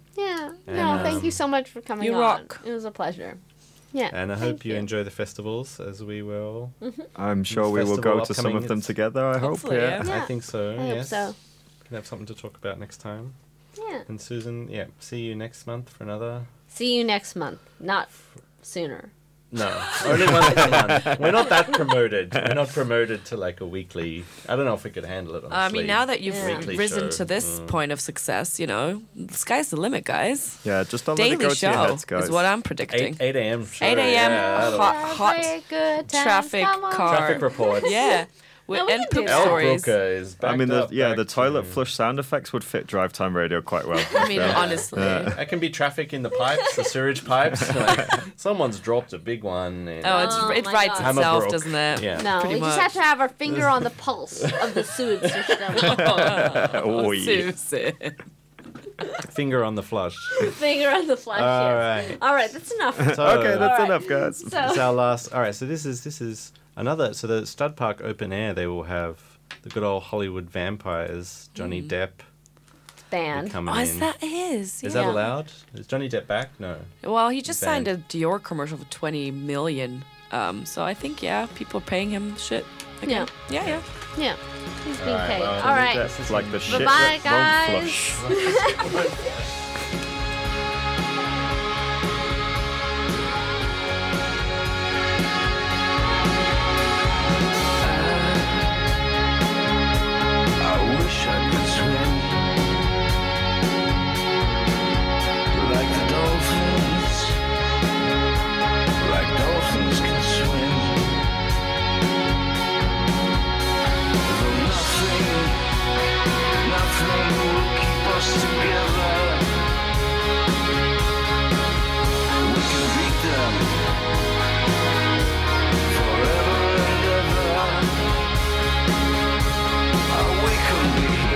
And, no, thank um, you so much for coming you on. rock. It was a pleasure. Yeah. And I thank hope you, enjoy the festivals as we will. I'm sure we will go Festival to some upcoming, of them it's- together. I hope. Hopefully, Yeah. yeah. I think so. I hope yes. so. Can have something to talk about next time. Yeah. And Susan, yeah, see you next month for another. See you next month. Not sooner. No, only once a month. We're not that promoted. We're not promoted to like a weekly. I don't know if we could handle it. Honestly. I mean, now that you've Yeah. Weekly risen show. to this Mm. point of success, you know, the sky's the limit, guys. Yeah, just don't let it Daily go to your show heads, guys. is what I'm predicting. eight eight a.m. show. eight a.m. Yeah, that'll- hot, hot Every good times traffic come on. car. Traffic reports. Yeah. With, No, we and can do poop that. El stories. Brooker is I mean, backed the, up yeah, back the toilet to- flush sound effects would fit drive time radio quite well. I mean, honestly. That can be traffic in the pipes, the sewage pipes. Like, someone's dropped a big one. in- Oh, it's, Oh it my writes God. itself, Hammerbrook. doesn't it? Yeah. No, Pretty we just much. have to have our finger on the pulse of the sewage system. oh, yeah. Susan. Finger on the flush. Finger on the flash. All yes. right. All right, that's enough. So, Okay, that's All right. enough, guys. So, It's our last. All right, so this is this is another. So the Stud Park Open Air, they will have the good old Hollywood vampires, Johnny Depp band. coming Oh, in. is that his? Is yeah. that allowed? Is Johnny Depp back? No. Well, he just Band. signed a Dior commercial for twenty million. Um, so I think yeah, people are paying him shit. Again. Yeah, yeah. Yeah, he's being All right, paid. well, All right. that's- It's like the shit Bye-bye, that won't guys. flush. I wish I could swim like the dolphins, like dolphins can swim. Though nothing, nothing will keep us together. We can beat them forever and ever. We can be